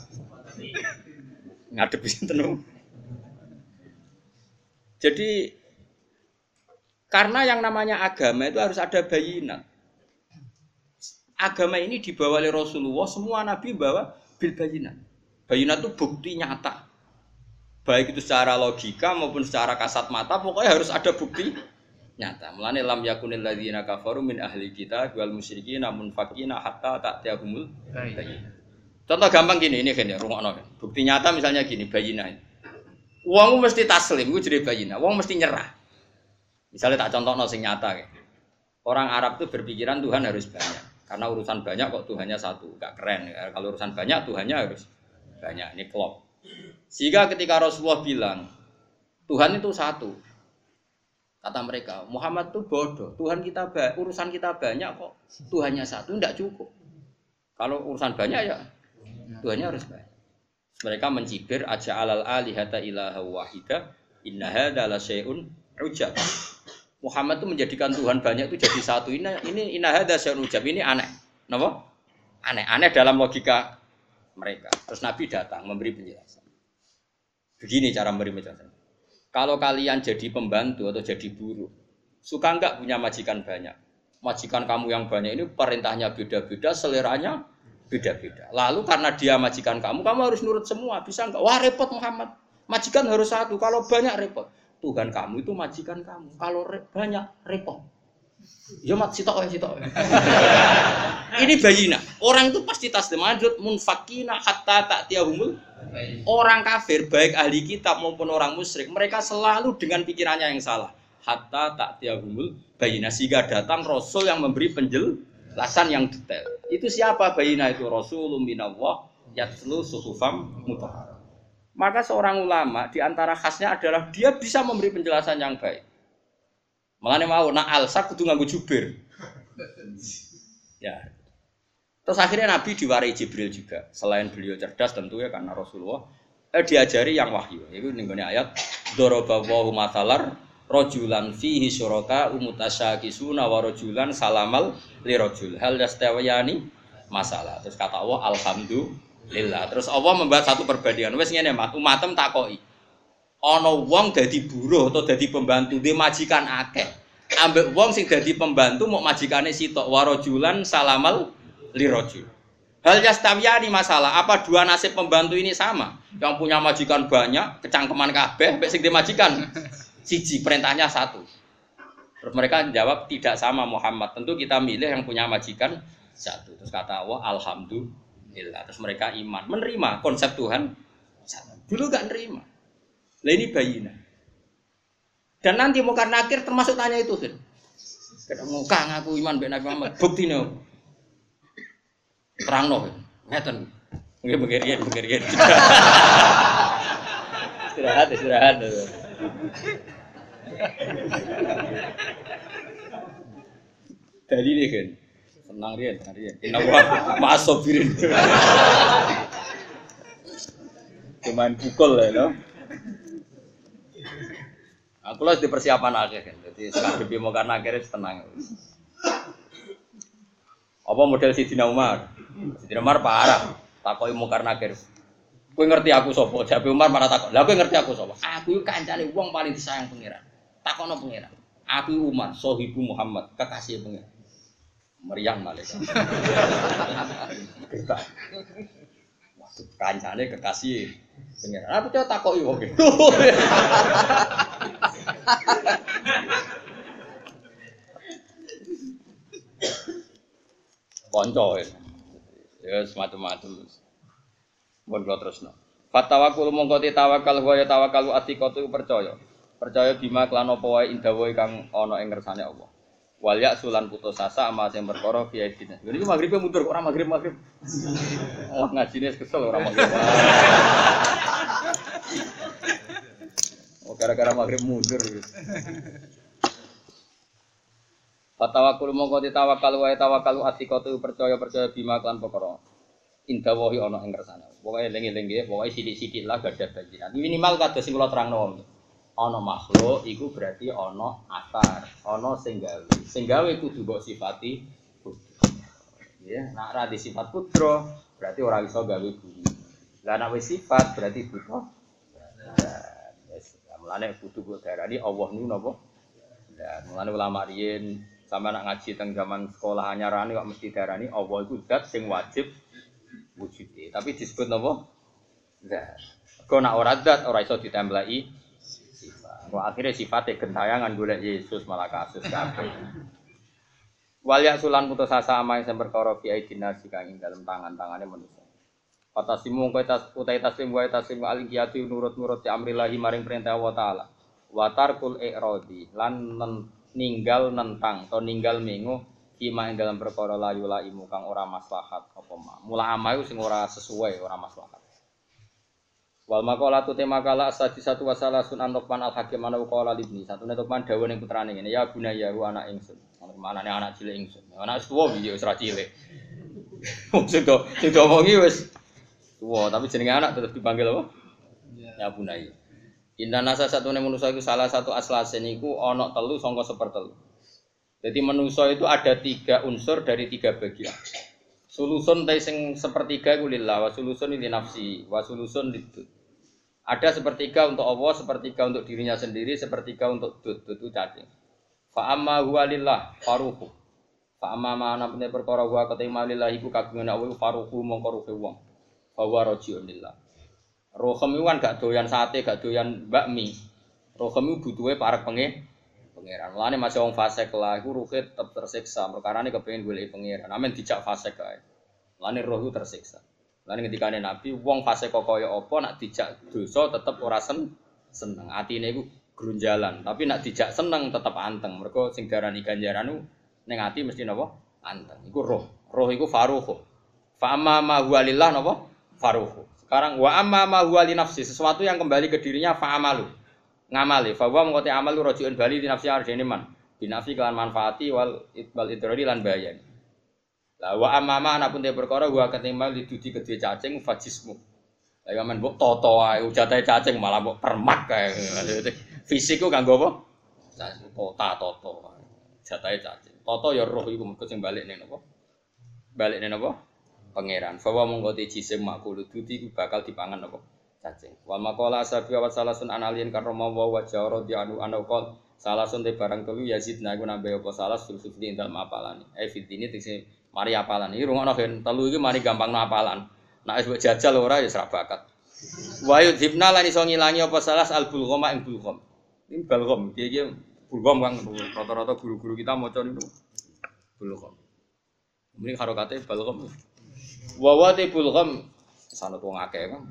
Ngadepi sinten. Jadi karena yang namanya agama itu harus ada bayinat. Agama ini dibawa oleh Rasulullah, semua nabi bawa bil bayinat. Bayinat itu bukti nyata. Baik itu secara logika maupun secara kasat mata, pokoknya harus ada bukti nyata. Mulane lam yakunil ladzina kafaru min ahli kitab wal musyrikin namun fakina hatta ta'tiyahumul bayinah. Contoh gampang gini, ini kan ya, rungokno. Bukti nyata misalnya gini, bayinah. Wong mesti taslim, iku jenenge bayinah. Wong mesti nyerah. Misalnya tak contohno sing nyata kayak. Orang Arab itu berpikiran Tuhan harus banyak. Karena urusan banyak kok Tuhannya satu, enggak keren. Kalau urusan banyak Tuhannya harus banyak. Ini klop. Sehingga ketika Rasulullah bilang Tuhan itu satu, kata mereka Muhammad itu bodoh. Tuhan kita ba- urusan kita banyak kok Tuhannya satu, enggak cukup. Kalau urusan banyak ya Tuhannya harus banyak. Mereka mencibir aja alal alihata ilaha wahida inna hadza la syai'un ujab. Muhammad itu menjadikan Tuhan banyak itu jadi satu. Ini ini inna hadza syai'un ujab, ini aneh. Napa? Aneh, aneh dalam logika mereka. Terus Nabi datang memberi penjelasan. Begini cara memberi penjelasan. Kalau kalian jadi pembantu atau jadi buruh, suka enggak punya majikan banyak? Majikan kamu yang banyak ini perintahnya beda-beda, seleranya beda-beda. Lalu karena dia majikan kamu, kamu harus nurut semua. Bisa enggak? Wah repot Muhammad. Majikan harus satu. Kalau banyak repot. Tuhan kamu itu majikan kamu. Kalau re- banyak repot. Ya mat sitok ya sitok. Ini bayina. Orang itu pasti taslim adut munfakina hatta ta'tiyahumul. Orang kafir baik ahli kitab maupun orang musyrik, mereka selalu dengan pikirannya yang salah. Hatta ta'tiyahumul bayina, sehingga datang rasul yang memberi penjelasan yang detail. Itu siapa bayina itu? Rasulun minallah yatlu suhufam mutahharah. Maka seorang ulama di antara khasnya adalah dia bisa memberi penjelasan yang baik. Makanya mau nak alsak kudu nganggo jubir. Ya. Terus akhirnya Nabi diwarai Jibril juga. Selain beliau cerdas tentu ya karena Rasulullah eh, diajari yang wahyu. Itu ning ayat daraballahu mathalar rajulan fihi syuraka umutasyakisuna wa rajulan salamal li rajul. Hal yastawiyani masalah. Terus kata Allah alhamdulillah. Terus Allah membuat satu perbandingan. Wes ngene mat umatem takoki. Ana wong dadi buruh atau dadi pembantu dhe majikan akeh. Ambek wong sing dadi pembantu mok majikane sitok warajulan salamal lirajul. Hal yastawiyani masalah, apa dua nasib pembantu ini sama? Yang punya majikan banyak, kecangkeman kabeh, ambek sing dhe majikan siji, perintahnya satu. Terus mereka jawab tidak sama Muhammad. Tentu kita milih yang punya majikan satu. Terus kata Allah alhamdulillah. Terus mereka iman, menerima konsep Tuhan satu. Dulu enggak nerima. Lah ini bayina. Dan nanti Munkar Nakir termasuk tanya itu kan. Ketemu Kang aku iman mbek Nabi Muhammad. Buktine opo? Terangno. Ngeten. Nggih begerian begerian. Istirahat istirahat. Dari ini kan. Senang riyen, senang riyen. Innawa ma'asobirin. Cuman pukul ya, no? Aku harus dipersiapan aja kan, jadi ngadepi Munkar Nakir tenang. Apa model Sidina Umar? Sidina Umar parah, takoki Munkar Nakir. Kowe ngerti aku sapa? Jabe Umar malah takok. Lah kowe ngerti aku sapa? Aku iku kancane wong paling disayang pangeran. Takokno pangeran. Aku Umar, sahibu Muhammad, kekasih pangeran. Meriang malaikat. Waduh, kancane kekasih pangeran. Aku coba takoki wong iki. Konco ya. Ya semacam-macam. Mun kula tresno. Fatawakul mongko te tawakal wa ya tawakalu atiqatu percaya. Percaya bima kelan apa wae indawa kang ana ing ngersane Allah. Wal ya sulan putus asa ama sing perkara fi aidina. Iki magribe mundur kok ora magrib-magrib. Oh ngajine kesel ora magrib. Oh gara-gara magrib mundur. Fatawakul mongko ditawakal wae tawakal atikatu percaya-percaya bima kan perkara. Indah wahi ana ing kersane. Pokoke eling-eling nggih, pokoke sithik-sithik lah gadah bajiran. Minimal kados sing kula terangno. Ana makhluk iku berarti ana asar, ana sing gawe. Sing gawe kudu mbok sifati kudro. Ya, nek ora di sifat kudro, berarti ora iso gawe bumi. Lah nek wis sifat berarti buta. Wis, mulane kudu mbok darani Allah niku napa? Lah, mulane ulama riyen sampe nek ngaji teng zaman sekolah anyarane kok mesti darani Allah iku zat sing wajib wujude. Tapi disebut napa? Zat. Kok nek ora zat ora iso ditembelai wah akhirnya sifatnya gentayangan golek Yesus malah kasus kabeh. Wal ya sulan putus asa ama sing perkara fi aidina kang ing dalem tangan-tangane manusa. Fatasimu kowe tas utai taslim wae taslim aliyati nurut-nurut ya amrillahi maring perintah Allah taala. Wa tarkul i'radi lan ninggal nentang atau ninggal mengo kima ing dalam perkara layu laimu kang ora maslahat apa ma. Mula amayu sing ora sesuai ora maslahat. Wal maqalatu tema kala sadi satu wasalasun an Luqman al-Hakim ana qala libni satune Luqman dawuh ning putrane ngene ya bunaya ru anak ingsun manane anak cilik ingsun anak tuwa iki wis ra cilik sing do sing diomongi wis tuwa tapi jenenge anak tetep dipanggil apa ya bunaya inna nasa satune manusa iku salah satu aslase niku ana telu sangka sepertelu jadi manusa itu ada tiga unsur dari tiga bagian sulusun ta sing sepertiga iku lillah wa sulusun li nafsi wa sulusun lidud. Ada sepertiga untuk Allah, sepertiga untuk dirinya sendiri, sepertiga untuk dud, dud itu cacing. Fa amma huwa lillah faruhu. Fa amma mana pene perkara huwa katima lillah iku kagungan Allah faruhu mongko ruhe wong. Fa huwa rajiun lillah. Rohem iku kan gak doyan sate, gak doyan bakmi. Rohem iku butuhe parek penge pangeran. Mulane masih wong fasik lah iku ruhe tetep tersiksa, perkarane kepengin golek pangeran. Amen dijak fasik kae. Mulane roh iku tersiksa. Lan ngendikane Nabi, wong fase kok kaya apa nak dijak dosa tetep ora sen seneng. Atine iku grunjalan, tapi nak dijak seneng tetep anteng. Mergo sing diarani ganjaran ku ning ati mesti napa? Anteng. Iku roh. Roh iku faruhu. Fa amma ma huwa lillah napa? Faruhu. Sekarang wa amma ma huwa li nafsi, sesuatu yang kembali ke dirinya fa amalu. Ngamali, fa wa mengkoti amal rajiun bali di nafsi arjene man. Binafi kelan manfaati wal itbal idrari lan bayan. Lah wa amama anapun te perkara wa ketimbang lidudi kedhe cacing fajismu. Lah ya men mbok toto ae ujate cacing malah mbok permak kae. Fisik ku kanggo apa? Cacing tota toto. Jatahe cacing. Toto ya roh iku mergo sing balik ning napa? Balik ning napa? Pangeran. Fawa monggo te jisim makul dudi ku bakal dipangan apa? Cacing. Wa maqala asabi wa salasun analien karoma wa jawra di anu anaqal salasun te barang telu yazidna iku nambah apa salas fil fitri dalem apalane. Eh fitri tegese mari apalan iki rungokno gen telu iki mari gampang apalan. Nek wis jajal ora ya ora bakat. Wa yudhibna lan iso ngilangi apa salas al bulghama ing bulgham. Ini bulgham iki iki bulgham kang rata-rata guru-guru kita maca niku bulgham. Mrene harokate bulgham. Wa wa te bulgham sanad wong akeh kan.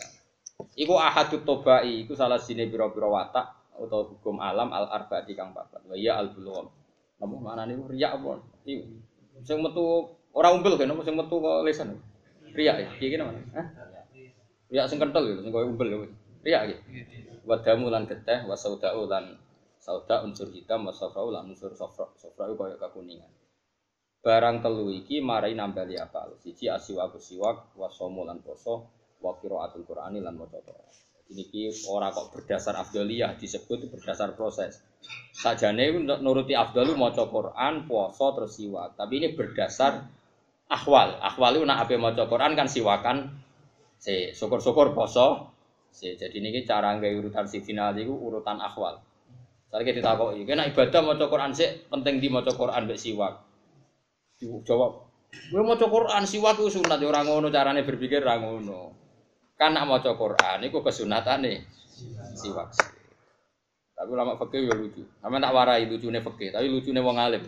Iku ahadut tobai iku salah sine pira-pira watak utawa hukum alam al arba'i kang papat. Wa ya al bulgham. Napa maknane riya apa? Iki sing metu ora umbel kan sing metu kok lesan. Riya iki iki namanya. Hah? Riya sing kenthel lho sing koyo umbel lho. Riya iki. Wa damu lan geteh wa sauda'u lan sauda unsur hitam wa safra'u lan unsur safra. Safra iku koyo kekuningan. Barang telu iki marai nambali apa? Siji asiwa siwak wa somo lan poso wa qiraatul Qur'ani lan maca Qur'an. Niki ora kok berdasar afdaliyah disebut berdasar proses. Sajane nuruti afdalu maca Quran, puasa terus siwak. Tapi ini berdasar ahwal. Ahwal itu nak ape maca Quran kan siwakan si syukur-syukur poso. Si jadi niki cara nggawe urutan si final iku urutan ahwal. Saiki ditakoki, kena ibadah maca Quran sik penting di maca Quran mbek siwak. Dijawab, "Kowe maca Quran siwak ku sunat ya ora ngono carane berpikir ora ngono." Kan nak maca Quran iku kesunatane siwak. Tapi ulama fikih ya lucu. Sampe tak warai lucune fikih, tapi lucune wong alim.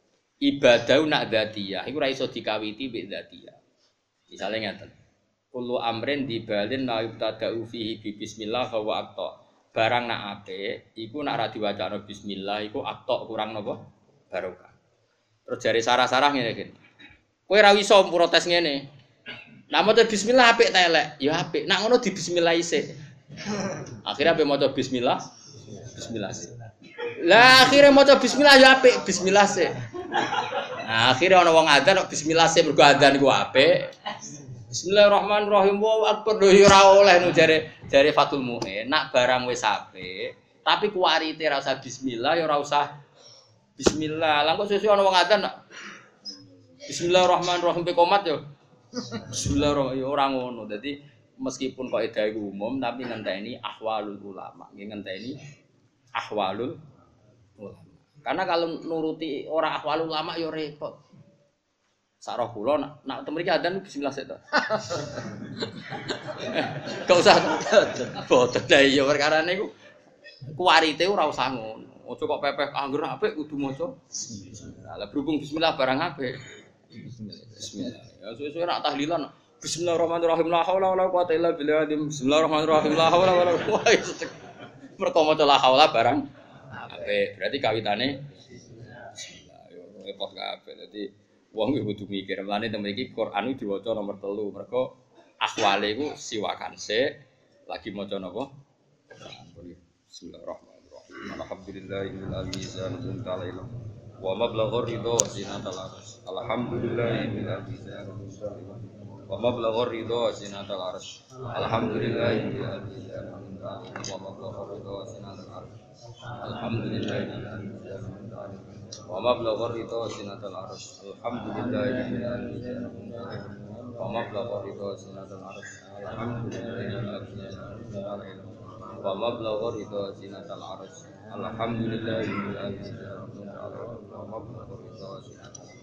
Ibadah nak dzatiyah iku ora iso dikawiti mbek dzatiyah. Misale ngeten. Kullu amrin dibalin la yubtada'u fihi bi bismillah fa wa aqta. Barang nak apik iku nak ra diwacana bismillah iku aqta kurang napa? Barokah. Terus jari sarah-sarah ngene iki. Kowe ra iso protes ngene. Nak maca bismillah apik ta elek? Ya apik. Nak ngono di bismillah isih. Akhirnya ape maca bismillah? Bismillah sih. Lah akhirnya maca bismillah ya apik, bismillah sih. Nah, akhirnya ana wong adzan kok bismillah sih mergo adzan iku apik. Bismillahirrahmanirrahim. Wa akbar lho ora oleh nu jare jare Fatul Mu'in. Nak barang wis apik, tapi kuwarite ra usah bismillah ya ora usah bismillah. Lah kok sesuk ana wong adzan Bismillahirrahmanirrahim pe komat yo. Bismillahirrahmanirrahim ora ngono. Dadi meskipun kaidah iku umum tapi ngenteni ahwalul ulama. Nggih ngenteni ahwalul ulama. Karena kalau nuruti ora ahwalul ulama ya repot. Sak roh kula nak nak temriki adzan bismillah sik to. Enggak usah. Boten lah iya perkara niku kuwarite ora usah ngono. Aja kok pepeh angger apik kudu maca bismillah. Lah berhubung bismillah barang apik. Bismillah. Ya suwe-suwe nak tahlilan Bismillahirrahmanirrahim la haula wala quwata illa billah. Bismillahirrahmanirrahim la haula wala quwata. Mergo maca la haula barang apik. Berarti kawitane bismillah. Yo repot kabeh. Dadi wong iki kudu mikir. Mulane temen iki Quran iki diwaca nomor telu. Mergo ahwale iku siwakan sik lagi maca napa? Bismillahirrahmanirrahim. Alhamdulillahil alamin ta'ala. Wa mablaghur ridha wa zinatal arsy. Alhamdulillahil alamin. Wa mablaghur ridha wa zinatal arsy. Alhamdulillahil alamin. Wa mablaghur ridha wa zinatal arsy. Alhamdulillahil alamin. Wa mablaghur ridha wa zinatal arsy. Alhamdulillahil alamin. Wa mablaghur ridha wa zinatal arsy. Alhamdulillahil alamin. Wa mablaghur ridha wa zinatal arsy. Alhamdulillahil alamin. Wa mablaghur ridha wa zinatal arsy.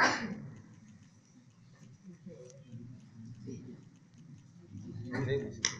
Ini